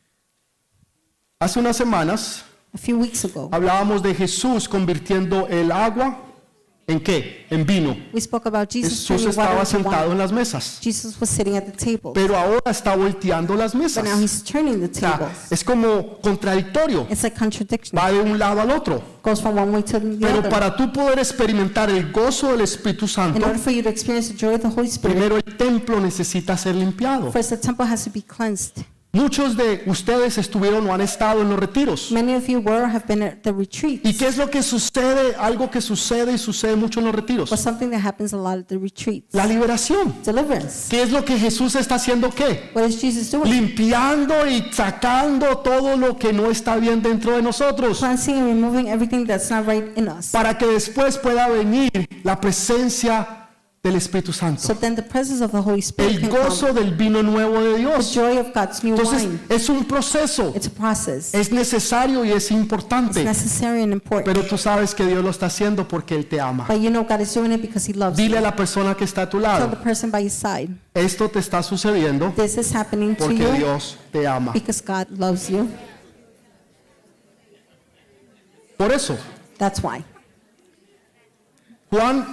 Hace unas semanas
A few weeks ago,
hablábamos de Jesús convirtiendo el agua en qué? En vino.
we spoke about Jesus
Jesús
turning water
estaba
into
sentado en
wine.
las mesas,
Jesus was sitting at the table,
pero ahora está volteando las
but
mesas.
now he's turning the
O sea,
tables.
es como contradictorio.
It's like contradiction.
Va de un lado al otro.
Goes from one way to the
Pero
other.
para tú poder experimentar el gozo del Espíritu
In
Santo,
order for you to experience the joy of the Holy Spirit,
primero el templo necesita ser limpiado.
first the temple has to be cleansed.
Muchos de ustedes estuvieron o han estado en los retiros.
Many of you were or have been at the retreats.
¿Y qué es lo que sucede? Algo que sucede y sucede mucho en los retiros.
But something that happens a lot at the retreats.
La liberación.
Deliverance.
¿Qué es lo que Jesús está haciendo? ¿Qué?
What is Jesus doing?
Limpiando y sacando todo lo que no está bien dentro de nosotros.
Cleansing and removing everything that's not right in us.
Para que después pueda venir la presencia del Espíritu Santo.
So then the presence of the Holy Spirit
El
can come.
gozo del vino nuevo de
The
Dios.
joy of God's new
Entonces,
wine.
es un proceso.
It's a process.
Es necesario y es
It's
importante.
necessary and important.
Pero tú sabes que Dios lo está haciendo porque Él te ama.
But you know God is doing it because He loves
Dile
you.
a la persona que está a tu
Tell the
lado,
person by your side,
esto te está sucediendo
this is happening to
porque
you
Dios te ama.
because God loves you.
Por eso,
That's why.
Juan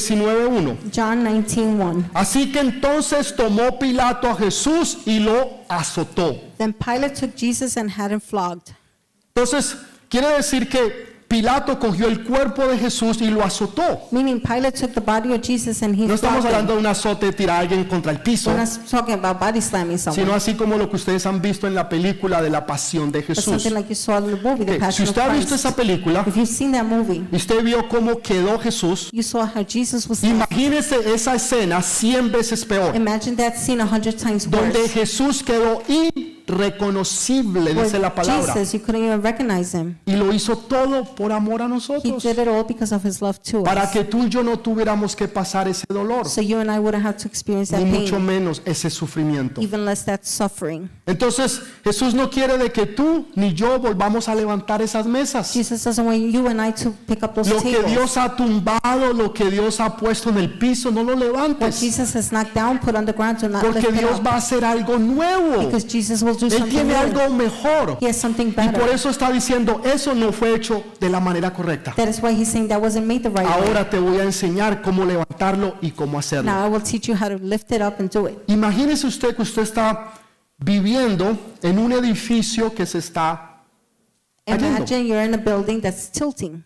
19:1.
John 19:1.
Así que entonces tomó Pilato a Jesús y lo azotó.
Then Pilate took Jesus and had him flogged.
Entonces, quiere decir que Pilato cogió el cuerpo de Jesús y lo azotó.
Meaning Pilate took the body of Jesus and he
No estamos
flogged
hablando
him.
de un azote de tirar a alguien contra el piso,
We're not talking about body slamming
sino
someone.
así como lo que ustedes han visto en la película de la Pasión de
But
Jesús.
something like you saw in the movie, The
Ok, Si
Passion of
usted ha visto
Christ.
esa película,
If you've seen that movie,
y usted vio cómo quedó Jesús,
you saw how Jesus was left.
imagínese esa escena 100 veces peor,
Imagine that scene 100 times
donde
worse.
Jesús quedó irreconocible, dice la
Where
palabra,
Jesus, you couldn't even recognize him.
y lo hizo todo por amor a
He
nosotros,
did it all because of his love to
para
us.
que tú y yo no tuviéramos que pasar ese dolor,
So you and I wouldn't have to experience that
ni mucho
pain,
menos ese sufrimiento.
even less that suffering.
Entonces, Jesús no quiere de que tú ni yo volvamos a levantar esas mesas.
Jesus doesn't want you and I to pick up those
Lo que
tables.
Dios ha tumbado, lo que Dios ha puesto en el piso, no lo
What
levantes,
Jesus has knocked down, put on the ground, do not
porque
lift it
Dios
up.
va a hacer algo nuevo.
Because Jesus will do
Él
something
tiene
new.
algo mejor.
He has something
Y por
better.
eso está diciendo, eso no fue hecho de la manera correcta.
That is why he's saying that wasn't made the right way.
Ahora te voy a enseñar cómo levantarlo y cómo hacerlo.
Now I will teach you how to lift it up and do it.
Imagínese usted que usted está viviendo en un edificio que se está cayendo.
Imagine you're in a building that's tilting.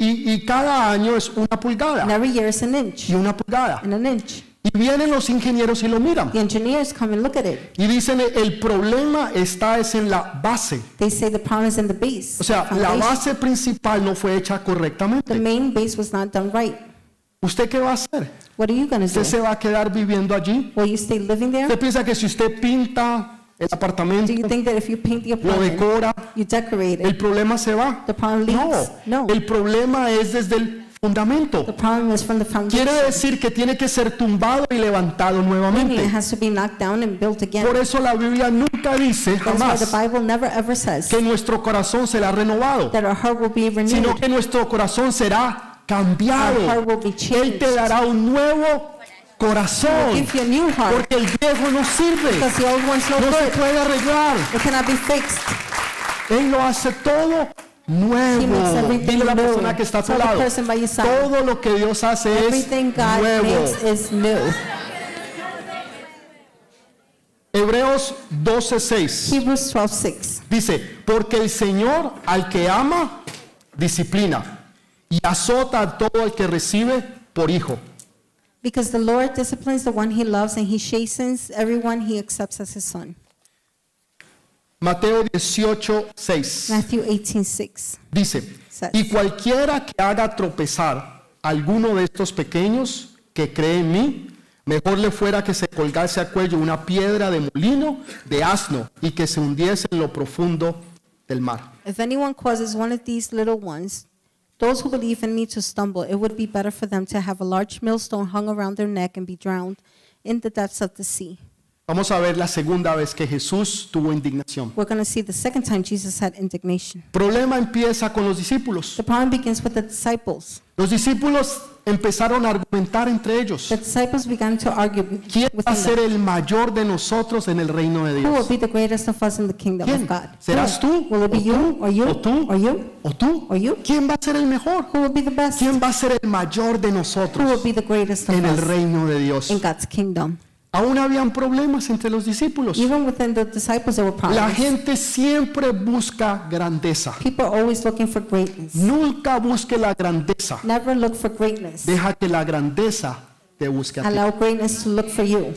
Y cada año es una
And
pulgada
every year it's an inch
y una pulgada.
and an inch.
Y vienen los ingenieros y lo miran.
The engineers come and look at it.
Y dicen, el problema está es en la base.
They say the problem is in the base.
O sea, la
foundation.
base principal no fue hecha
The
correctamente.
main base was not done right.
¿Usted qué va a hacer?
What are you going to
¿Usted
do?
se va a quedar viviendo allí?
Will you stay living there?
¿Usted piensa que si usted pinta el apartamento,
Do you think that if you paint the
lo
apartment,
decora,
you decorate
el
it,
problema se va?
the problem leaves?
No,
No.
el problema es desde el
The
fundamento.
problem is from the foundation.
Quiere decir que tiene que ser tumbado y levantado
Meaning it
nuevamente.
has to be knocked down and built again.
Por eso la Biblia nunca dice
That's why the
jamás
Bible never ever says
que nuestro corazón será renovado,
that our heart will be
sino
renewed.
que nuestro corazón será cambiado.
Our heart will be
Él
changed.
te dará un nuevo corazón,
Give you a new heart
porque el viejo no sirve,
because the old one's no
no se
good.
puede arreglar.
It cannot be fixed.
Él lo hace todo
He
nuevo.
makes everything
Dile a la
new.
persona que está a tu
Tell the
lado,
person by your side.
todo lo que Dios hace es
Everything God
nuevo.
makes is new.
Hebreos 12:6
Hebrews 12:6.
dice, porque el Señor al que ama, disciplina y azota a todo el que recibe por hijo.
Because the Lord disciplines the one he loves and he chastens everyone he accepts as his son.
Mateo 18:6
Matthew 18:6.
dice, y cualquiera que haga tropezar a alguno de estos pequeños que cree en mí, mejor le fuera que se colgase a cuello una piedra de molino de asno y que se hundiese en lo profundo del mar.
If anyone causes one of these little ones, those who believe in me, to stumble, it would be better for them to have a large millstone hung around their neck and be drowned in the depths of the sea.
Vamos a ver la segunda vez que Jesús tuvo indignación.
We're going to see the second time Jesus had indignation.
El problema empieza con los discípulos.
The problem begins with the disciples.
Los discípulos empezaron a argumentar entre ellos.
The disciples began to argue
¿Quién va a
within
ser
them.
el mayor de nosotros en el reino de
Who will
Dios?
be the greatest of us in the kingdom
¿Quién?
of God?
¿Serás
Who?
tú?
Will it be
¿O
you?
tú?
Or you?
¿O tú?
Or you?
¿O tú?
Or you?
¿Quién va a ser el mejor?
Who will be the best? Who
¿Quién va a ser el mayor de
will
nosotros
be the greatest of
en el
us
reino de Dios?
in God's kingdom?
Aún habían problemas entre los discípulos.
Even within the disciples, there were
La
problems.
gente siempre busca grandeza.
People are always looking for greatness.
Nunca busque la grandeza.
Never look for greatness.
Deja que la grandeza te busque a ti.
Allow greatness to look for you.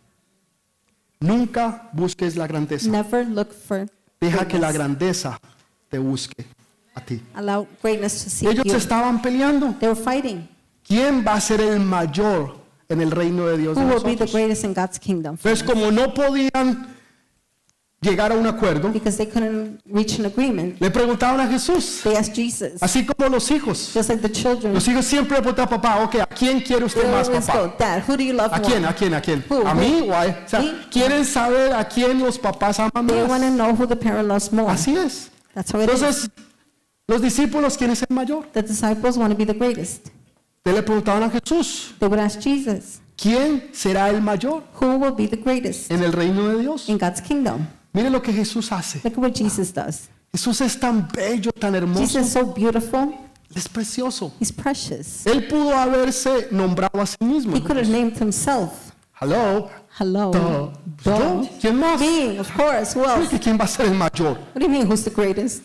Nunca busques la grandeza.
Never look for
Deja que la
greatness.
grandeza te busque a ti.
Allow greatness to seek
Ellos
you.
estaban peleando.
They were fighting.
¿Quién va a ser el mayor en el reino de Dios de
Who will be the
nosotros?
greatest in God's kingdom?
Entonces, como no podían llegar a un acuerdo,
because they couldn't reach an agreement.
le preguntaban a Jesús,
They asked Jesus,
así como los hijos.
just like the children.
Los hijos siempre le preguntan a papá, ok, ¿a quién quiere usted
They
más,
always
papá?
go, Dad, who do you love
¿A quién?
more?
¿A quién? ¿A quién?
Who?
¿A mí o a él? O sea,
Me?
quieren saber a quién los papás aman
They want to
más.
know who the parent loves more.
Así es.
That's how it is.
Entonces, los discípulos, ¿quién es el mayor?
The disciples want to be the greatest.
Te le preguntaban a Jesús,
They would ask Jesus,
¿quién será el mayor
who will be the greatest
en el reino de Dios?
in God's kingdom?
Mire lo que Jesús hace.
Look at what Jesus does.
Jesús es tan bello, tan hermoso,
Jesus is so beautiful.
es precioso.
He's precious.
Él pudo haberse nombrado a sí mismo.
He could have named himself.
Hello.
Hello.
Duh.
Duh.
¿Yo? ¿Quién más?
Me, of course. Who else?
¿Quién va a ser el mayor?
What do you mean, who's the greatest?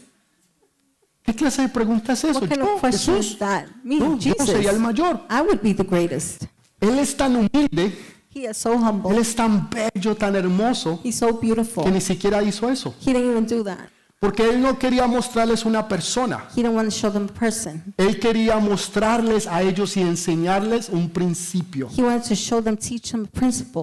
¿Qué clase de pregunta es eso?
What kind
Yo,
of question
Jesús.
is that? Me,
No, yo
Jesus.
sería el mayor.
I would be the greatest.
Él es tan humilde,
He is so
él
humble.
es tan bello, tan hermoso,
He's so beautiful.
que ni siquiera hizo eso.
He didn't even do that.
Porque él no quería mostrarles una persona.
He didn't want to show them a person.
Él quería mostrarles a ellos y enseñarles un principio.
He wanted to show them, teach them a principle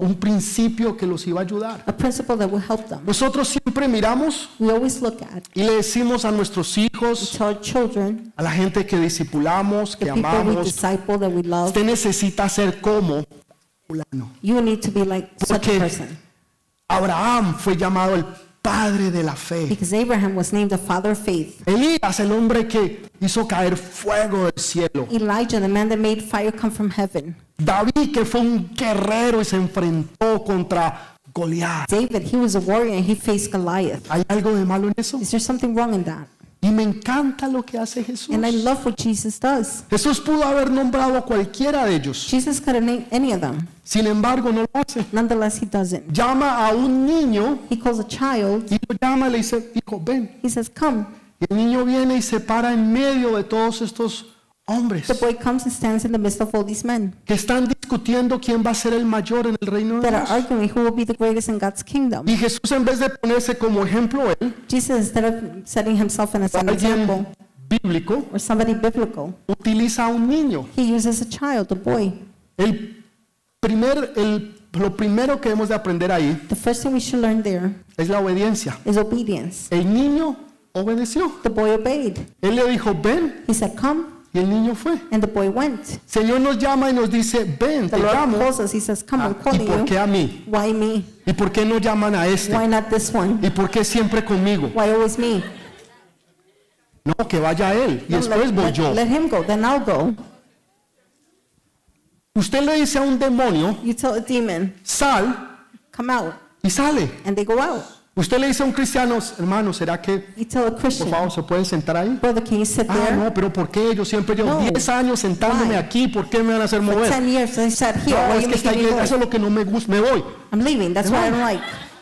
Que los iba a ayudar.
that will help them.
Nosotros siempre miramos
We always look at,
y le decimos a nuestros hijos,
tell our children,
a la gente que discipulamos, que
the people we
amamos,
disciple, that we love,
usted necesita ser como fulano.
you need to be like such a
Porque
person.
Abraham fue llamado el padre de la fe.
Because Abraham was named the father of faith.
Elías, el hombre que hizo caer fuego del cielo.
Elijah, the man that made fire come from heaven.
David, que fue un guerrero y se enfrentó contra Goliat.
David, he was a warrior and he faced Goliath.
¿Hay algo de malo en eso?
Is there something wrong in that?
Y me encanta lo que hace Jesús.
And I love what Jesus does.
Jesús pudo haber nombrado a cualquiera de ellos.
Jesus could have named any of them.
Sin embargo, no lo hace.
Nonetheless, he doesn't.
Llama a un niño
He calls a child.
y lo llama y le dice, hijo, ven.
He says, come.
Y el niño viene y se para en medio de todos estos hombres
The boy comes and stands in the midst of all these men
que están discutiendo quién va a ser el mayor en el reino de
that are
Dios.
arguing who will be the greatest in God's kingdom.
Y Jesús, en vez de ponerse como ejemplo él,
Jesus, instead of setting himself as an example
alguien bíblico,
or somebody biblical,
utiliza a un niño.
he uses a child, a boy.
Lo primero que hemos de aprender ahí
The first thing we should learn there
es la obediencia.
is obedience.
El niño obedeció.
The boy obeyed.
Él le dijo, ven,
He said, come,
y el niño fue.
and the boy went.
El Señor nos llama y nos dice, ven,
The
te
Lord
llamo.
calls us. He says, come, I'm
¿Y
calling
por
you.
qué a mí?
Why me?
¿Y por qué no llaman a este?
Why not this one?
¿Y por qué siempre conmigo?
Why always me?
No, que vaya él y
No,
después voy yo.
let him go, then I'll go.
Usted le dice a un demonio,
You tell a demon,
sal,
come out,
y sale.
and they go out.
Usted le dice a un cristiano, hermano, ¿será que,
You tell a
por
Christian,
favor, se puede sentar ahí?
brother, can you sit
Ah,
there?
no, pero ¿por qué? Yo siempre llevo
No.
10 años sentándome
Why?
aquí, ¿por qué me van a hacer
For
mover?
10 years, I sat here.
No,
Why
es
you
que esta
making me
iglesia, eso es
go?
lo que no me gusta, me voy.
I'm leaving. That's what I don't like.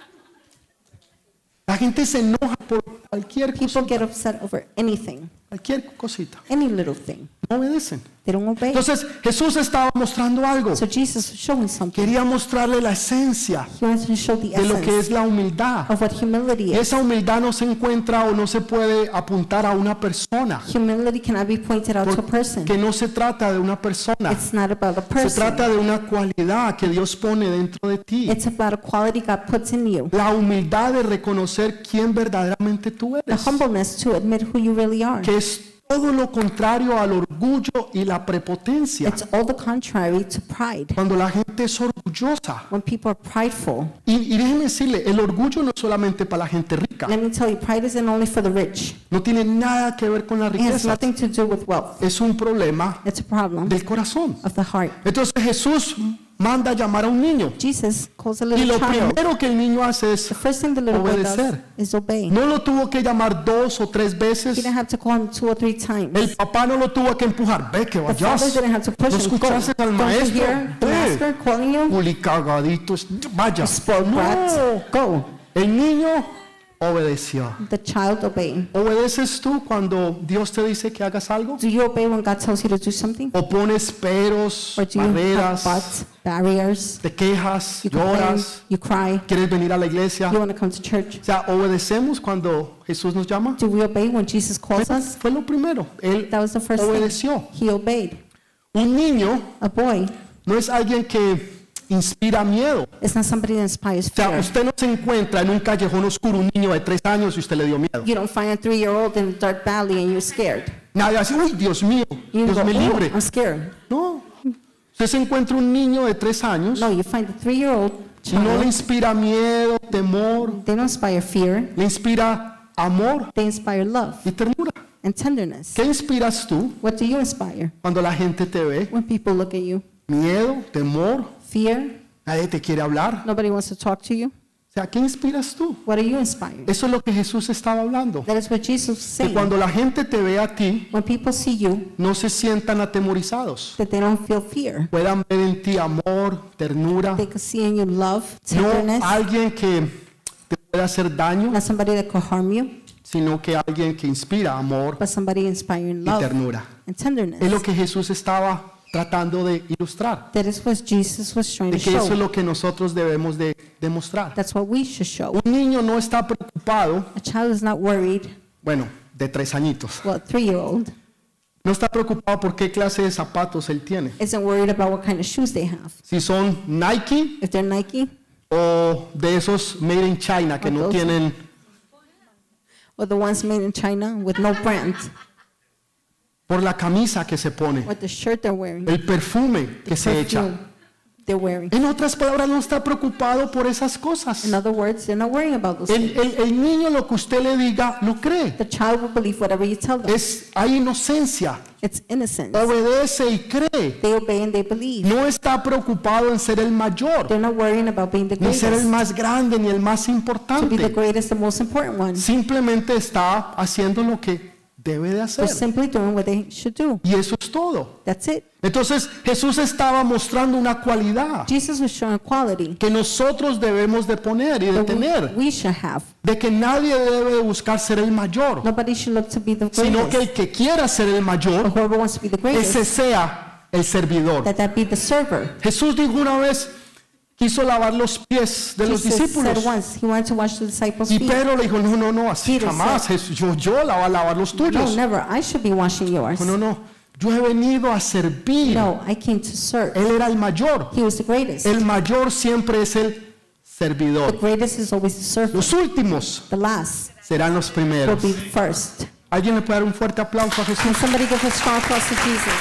La gente se enoja por cualquier cosa,
People get upset over anything,
cualquier cosita.
any little thing.
No obedecen.
They don't obey.
Entonces Jesús estaba mostrando algo.
So Jesus was showing something.
Quería mostrarle la esencia
He wanted to show the
de lo que es
essence
la humildad.
of what humility
Y
is.
esa humildad no se encuentra o no se puede apuntar a una persona.
Humility cannot be pointed out to a person.
Que no se trata de una persona.
It's not about a
Se
person.
trata de una cualidad que Dios pone dentro de ti.
It's about a quality God puts in you.
La humildad de reconocer quién verdaderamente tú
The
eres.
humbleness to admit who you really are.
Que es todo lo contrario al orgullo y la prepotencia.
It's all the contrary to pride.
Cuando la gente es orgullosa.
When people are prideful,
Y déjeme decirle, el orgullo no es solamente para la gente rica.
let me tell you, pride isn't only for the rich.
No tiene nada que ver con la
It has
riqueza.
nothing to do with wealth.
Es un problema
It's a problem
del corazón.
of the heart.
Entonces Jesús manda a llamar a un niño.
Jesus calls a
Y
little
lo
child.
primero que el niño hace es
The first thing the little boy does
obedecer.
is obey.
No lo tuvo que llamar 2 o 3
He
veces.
didn't have to call him 2 or 3
El
times.
papá no lo tuvo que empujar. Ve que
The
vayas.
father didn't have to push
No
him. Go.
escuchaste al
Don't you
maestro.
hear the
Ve.
master calling you?
Culicagaditos. Vaya.
Spoiled brat.
No.
Go.
El niño obedeció.
The child obeyed.
¿Obedeces tú cuando Dios te dice que hagas algo?
Do you obey when God tells you to do something?
¿O pones peros,
Or do you have
barreras,
buts, barriers?
te quejas,
You complain,
lloras,
you cry,
quieres venir a la iglesia?
you want to come to church.
O sea, ¿obedecemos cuando Jesús nos llama?
Do we obey when Jesus calls us?
Fue lo primero. Él
That was the first
obedeció.
thing. He obeyed.
Un niño
A boy
no es alguien que inspira miedo.
It's not somebody that inspires
O sea,
fear.
usted no se encuentra en un callejón oscuro un niño de 3 años y usted le dio miedo.
You don't find a 3-year-old in a dark valley and you're scared.
Nadie dice, uy, Dios mío,
You
Dios
go,
me
oh,
libre.
I'm scared.
No. Usted se encuentra un niño de 3 años
No, you find a 3-year-old
y no le
child.
inspira miedo, temor,
They don't inspire fear.
le inspira amor
They inspire love
y ternura.
and tenderness.
¿Qué inspiras tú
What do you inspire
cuando la gente te ve?
when people look at you?
Miedo, temor,
Fear?
nadie te quiere hablar.
Nobody wants to talk to you?
O sea, ¿qué inspiras tú?
What are you inspiring?
Eso es lo que Jesús estaba hablando.
That is what Jesus was
Que
saying.
cuando la gente te ve a ti,
When people see you,
no se sientan atemorizados.
that they don't feel fear.
Puedan ver en ti amor, ternura,
They can see in you love,
no
tenderness,
alguien que te pueda hacer daño,
not somebody that could harm you,
sino que alguien que inspira amor
but somebody inspiring
y
love
ternura.
and tenderness.
Es lo que Jesús estaba tratando de ilustrar,
That is what Jesus was trying
de
to
que eso es
show.
lo que nosotros debemos de demostrar.
That's what we should show.
Un niño no está preocupado,
A child is not worried,
bueno, de 3 añitos,
well, a 3-year-old
no está preocupado por qué clase de zapatos él tiene.
isn't worried about what kind of shoes they have.
Si son Nike
If they're Nike
o de esos made in China que no
Those-
tienen,
or the ones made in China with no brand,
por la camisa que se pone,
or the shirt they're wearing,
el perfume que se echa.
perfume they're wearing.
En otras palabras, no está preocupado por esas cosas.
In other words, they're not worrying about those things.
El niño lo que usted le diga lo cree.
The child will believe whatever you tell them.
Hay inocencia,
It's innocence.
obedece y cree.
They obey and they believe.
No está preocupado en ser el mayor,
They're not worrying about being the
ni ser el
greatest,
más grande, ni el más
to be the
importante.
greatest, the most important one.
Simplemente está haciendo lo que debe de
They're
hacer.
simply doing what they should do.
Y eso es todo.
That's it.
Entonces Jesús estaba mostrando una cualidad
Jesus was showing quality
que nosotros debemos de poner y de
that
tener,
we should have.
de que nadie debe de buscar ser el mayor,
Nobody should look to be the
sino que
greatest.
el que quiera ser el
But
mayor,
whoever wants to be the
ese
greatest,
sea el servidor.
that be the server.
Jesús dijo una vez, quiso lavar los pies de los
Jesus
discípulos.
said once he wanted to wash the disciples'
Y
feet.
Pedro le dijo, no, así
Peter
jamás, Jesús, yo la voy a lavar los
No,
tuyos.
never. I should be washing yours.
No, yo he venido a servir.
No, I came to serve.
Él era el mayor.
He was the greatest.
El mayor siempre es el
The
servidor.
greatest is always the servant.
Los últimos
The last
serán los
will
primeros.
be the first.
¿Alguien le puede dar un fuerte aplauso a Jesús?
Can somebody give a strong applause to Jesus?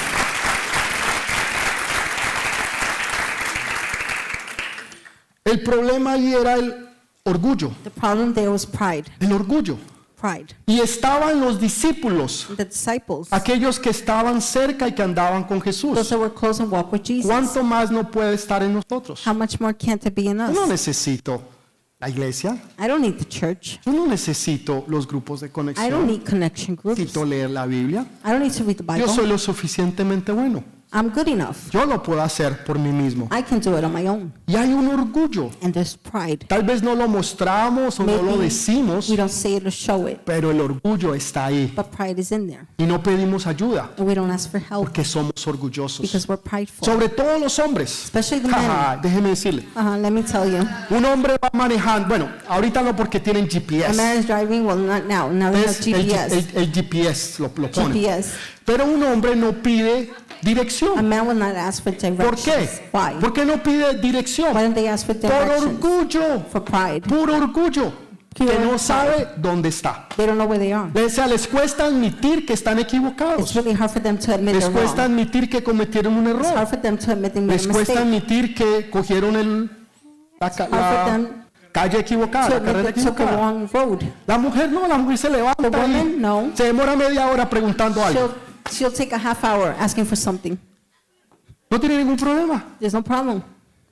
El problema ahí era el orgullo.
The problem there was pride.
El orgullo.
Pride.
Y estaban los discípulos,
The disciples,
aquellos que estaban cerca y que andaban con
those
Jesús.
that were close and walked with Jesus.
¿Cuánto más no puede estar en nosotros?
How much more can't it be in
Yo no
us?
necesito la iglesia.
I don't need the church.
Yo no necesito los grupos de
I don't
conexión.
need connection groups.
Necesito leer la Biblia.
I don't need to read the
Yo soy
Bible.
lo suficientemente bueno.
I'm good enough.
Yo lo puedo hacer por mí mismo.
I can do it on my own.
Y hay un orgullo.
And there's pride.
Tal vez no lo mostramos o no lo
Maybe
decimos,
we don't say it or show it,
pero el orgullo está ahí.
but pride is in there.
Y no pedimos ayuda
And we don't ask for help
porque somos orgullosos.
because we're prideful.
Sobre todo los hombres.
Especially the men.
Jaja, déjeme decirle.
Let me tell you.
Un hombre va manejando, bueno, ahorita no porque tienen
A
GPS.
man is driving, well, not now. Now they have
Es el,
GPS.
el GPS lo pone.
GPS.
Pero un hombre no pide
A
dirección.
man will not ask for
¿Por qué?
directions. Why?
¿Por qué no pide
Why
dirección?
don't they ask for
Por
directions?
orgullo.
For pride.
Puro orgullo. Que
Pure
no
pride.
sabe dónde está.
They don't know where they are.
O sea, les cuesta admitir que están
It's
equivocados.
really hard for them to admit
Les
they're
cuesta
wrong.
admitir que cometieron un
It's
error.
hard for them to admit they made
Les
a
cuesta
mistake.
admitir que cogieron la
hard for them
calle equivocada,
To
la
admit
carrera
they took a
equivocada.
wrong road.
La mujer no, la mujer se levanta
The woman,
y
no.
se demora media hora preguntando algo.
She'll take a half hour asking for something.
No tiene ningún problema.
There's no problem.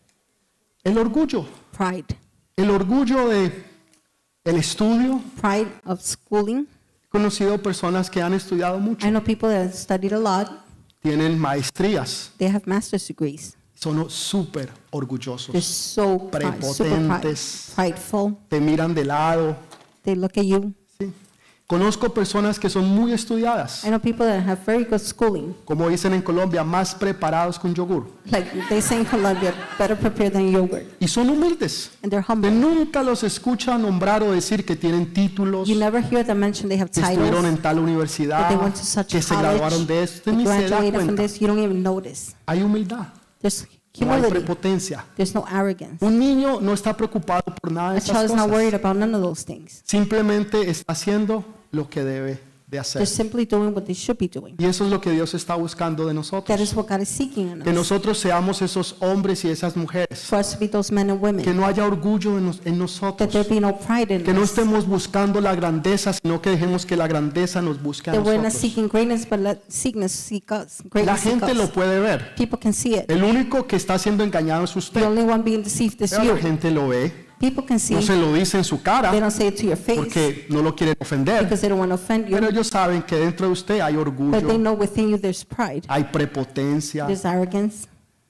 El orgullo.
Pride.
El orgullo de el estudio.
Pride of schooling.
He conocido personas que han estudiado mucho.
I know people that have studied a lot.
Tienen maestrías.
They have master's degrees.
Son súper
They're
orgullosos.
so super
Prepotentes.
prideful.
Te miran de lado.
They look at you.
¿sí? Conozco personas que son muy estudiadas.
I know people that have very good schooling.
Como dicen en Colombia, más preparados que un yogur.
Like they say in Colombia, better prepared than yogurt.
Y son humildes.
And they're
Usted
humble.
nunca los escucha nombrar o decir que tienen títulos,
You never hear them mention they have
que estuvieron
titles,
en tal
that
universidad,
they went to such
que
a
se graduaron
college,
de esto. Usted
they
ni se da
graduated from
cuenta.
this. You don't even notice.
Hay humildad.
There's
No hay
humility.
prepotencia.
There's no arrogance.
Un niño no está preocupado por nada de
A
esas
child is not worried
cosas.
about none of those things.
Simplemente está haciendo lo que debe de hacer.
They're simply doing what they should be doing.
Y eso es lo que Dios está buscando de
That
nosotros.
is what God is seeking in
Que
us.
nosotros seamos esos hombres y esas mujeres.
For us to be those men and
Que
women.
no haya orgullo en
That there
nosotros.
be no pride in
Que no
us.
estemos buscando la grandeza, sino que dejemos que la grandeza nos busque a
That we're not
nosotros.
seeking greatness, but let sickness seek us.
La
Greatness seek
gente lo
us.
puede ver.
People can see it.
El único que está siendo engañado es
The
usted.
only one being deceived is
Pero la
you.
gente lo ve.
People can see.
No se lo dice en su
They
cara
don't say it to your face
porque no lo quieren ofender.
because they don't want to offend you.
Pero ellos saben que dentro de usted hay
But they
orgullo,
know within you there's pride.
hay prepotencia.
There's arrogance.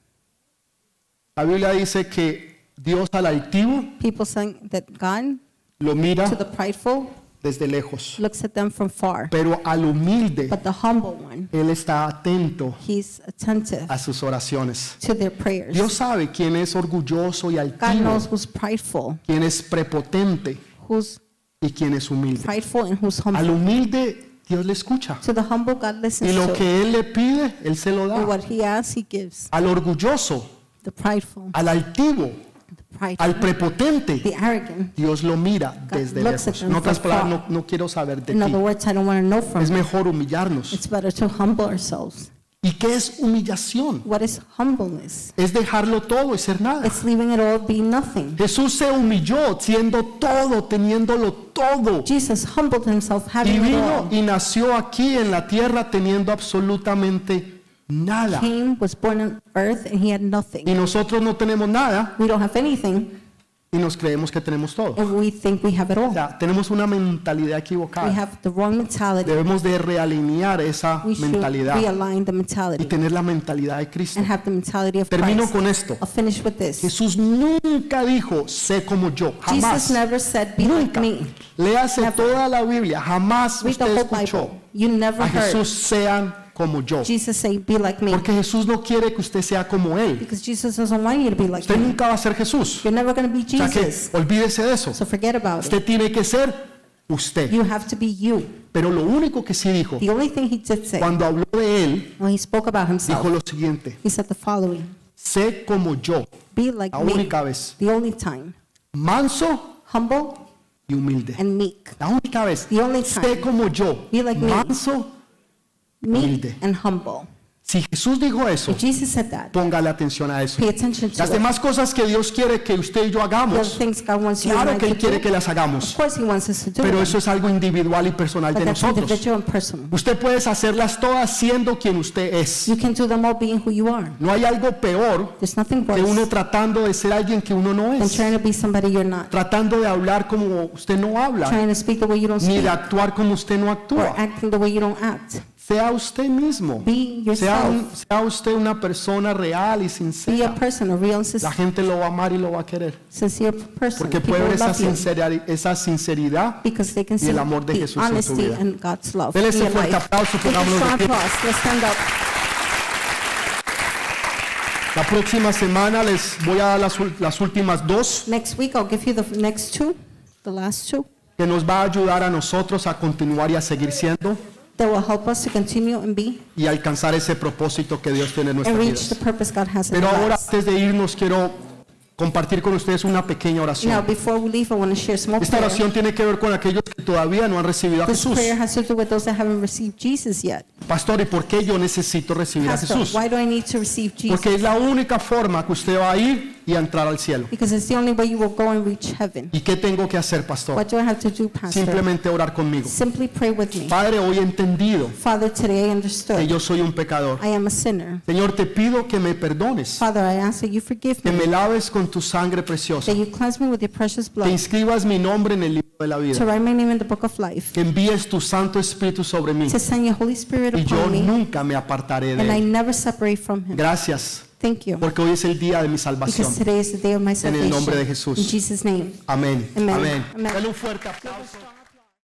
La Biblia dice que Dios al altivo
People saying that God,
lo mira
to the prideful,
desde lejos,
looks at them from far.
pero al humilde
But the humble one,
Él está atento
he's attentive
a sus oraciones.
to their prayers.
Dios sabe quién es orgulloso y
God
altivo,
knows who's prideful,
quién es prepotente
who's
y quién es humilde.
prideful, and who's
Al
humble.
humilde Dios le escucha
To the humble, God
y
listens
lo
to.
que Él le pide, Él se lo
And
da.
what he asks, he gives.
Al orgulloso,
The prideful,
al altivo,
the prideful,
al prepotente,
the arrogant.
Dios lo mira desde
looks at
lejos.
them
En otras
from
palabras,
far.
no quiero saber de
In other
ti.
words, I don't want to know from
Es
you.
mejor humillarnos.
It's better to humble ourselves.
¿Y qué es humillación?
What is humbleness?
Es dejarlo todo y ser nada.
It's leaving it all, being nothing.
Jesús se humilló siendo todo, teniéndolo todo.
Jesus humbled himself,
Y
having it
vino
all.
y nació aquí en la tierra teniendo absolutamente nada.
Came, was born on earth, and he had nothing.
Y nosotros no tenemos nada
We don't have anything,
y nos creemos que tenemos todo.
and we think we have it
O
all.
sea, tenemos una mentalidad
We
equivocada.
have the wrong mentality.
Debemos de realinear esa
We should
mentalidad
realign the
y
mentality
tener la mentalidad de Cristo.
and have the mentality of
Termino
Christ.
con esto.
I'll finish with this.
Jesús nunca dijo, sé como yo,
Jesus
jamás.
never said, be like
Nunca.
me.
Léase
Never.
toda la Biblia, jamás
Read the
usted
whole
escuchó
Bible. You never
a
heard
Jesús sean como yo.
Jesus say, be like me.
Porque Jesús no quiere que usted sea como Él.
Because Jesus doesn't want you to be like
Usted
me.
nunca va a ser Jesús.
You're never going to be
O sea que
Jesus.
olvídese de eso.
So forget about it.
Usted tiene que ser usted.
You have to be you.
Pero lo único que sí dijo,
The only thing he did say,
cuando habló de Él,
when he spoke about
dijo
himself,
lo siguiente,
he said the following,
sé como yo,
be like
la
me.
única vez,
The only time.
manso
Humble
y humilde.
and meek.
La única vez,
The only
sé
time.
como yo,
Be like me.
manso.
Meek
Humilde.
and humble.
Si Jesús dijo eso,
If Jesus said that,
póngale atención a eso.
pay attention to
Las
it.
demás cosas que Dios quiere que usted y yo
The other
hagamos,
things God wants you
claro
and
que
I
Él
to
quiere
do,
que las
of
hagamos,
course he wants us to do
pero
them.
eso es algo individual y personal
But
de
that's
nosotros.
individual and personal.
Usted puede hacerlas todas siendo quien usted es.
You can do them all being who you are.
No hay algo peor
There's nothing
que uno
worse
tratando de ser alguien que uno no
than
es,
trying to be somebody you're not.
tratando de hablar como usted no habla,
Trying to speak the way you don't
ni
speak.
de actuar como usted no
Or
actúa.
acting the way you don't act.
Sea usted mismo,
Be
sea,
yourself.
sea usted una persona real y
Be a
sincera.
person, a real and
La gente lo va a amar y lo va a querer,
sincere person.
porque
People
puede ver
will
esa
love you
esa sinceridad.
because they can
y
see
el amor de
the
Jesús en tu
honesty
vida.
and God's love
Dele
in
ese
your
fuerte
life.
aplauso,
Give a
pongámonos de
strong
pie.
applause. Let's stand up.
La próxima semana les voy a dar las últimas dos,
Next week, I'll give you the next two, the last two,
que nos va a ayudar a nosotros a continuar y a seguir siendo
that will help us to continue and be
y alcanzar ese propósito que Dios tiene en
and
nuestras
reach the
vidas.
purpose God has in
Pero
our
ahora,
lives.
antes de irnos, quiero compartir con ustedes una pequeña
Now,
oración.
before we leave, I want to share some more
Esta
prayer.
oración tiene que ver con aquellos que todavía no han recibido a
This
Jesús.
prayer has to do with those that haven't received Jesus yet.
Pastor, ¿y por qué yo necesito recibir a
Pastor,
Jesús?
why do I need to receive Jesus?
Porque es la única forma que usted va a ir y a entrar al cielo.
Because it's the only way you will go and reach heaven.
¿Y qué tengo que hacer, pastor?
What do I have to do, Pastor?
Simplemente orar conmigo.
Simply pray with me.
Padre, hoy he entendido
Father, today I
que
understood
yo soy un pecador.
I am a sinner.
Señor, te pido que me perdones,
Father, I ask that you forgive
que me
me,
laves con tu sangre preciosa,
that you cleanse me with your precious
que
blood,
inscribas mi nombre en el libro de la
to
vida,
write my name in the book of life,
que envíes tu Santo Espíritu sobre mí
to send your Holy Spirit
y yo
upon me,
nunca me apartaré
and
de
I
él.
never separate from him.
Gracias,
Thank you.
porque hoy es el día de mi salvación.
Because today is the day of my
En el nombre de
salvation.
Jesús.
In Jesus' name.
Amén.
Amen.
Amén.
Amen.
Dale un fuerte aplauso.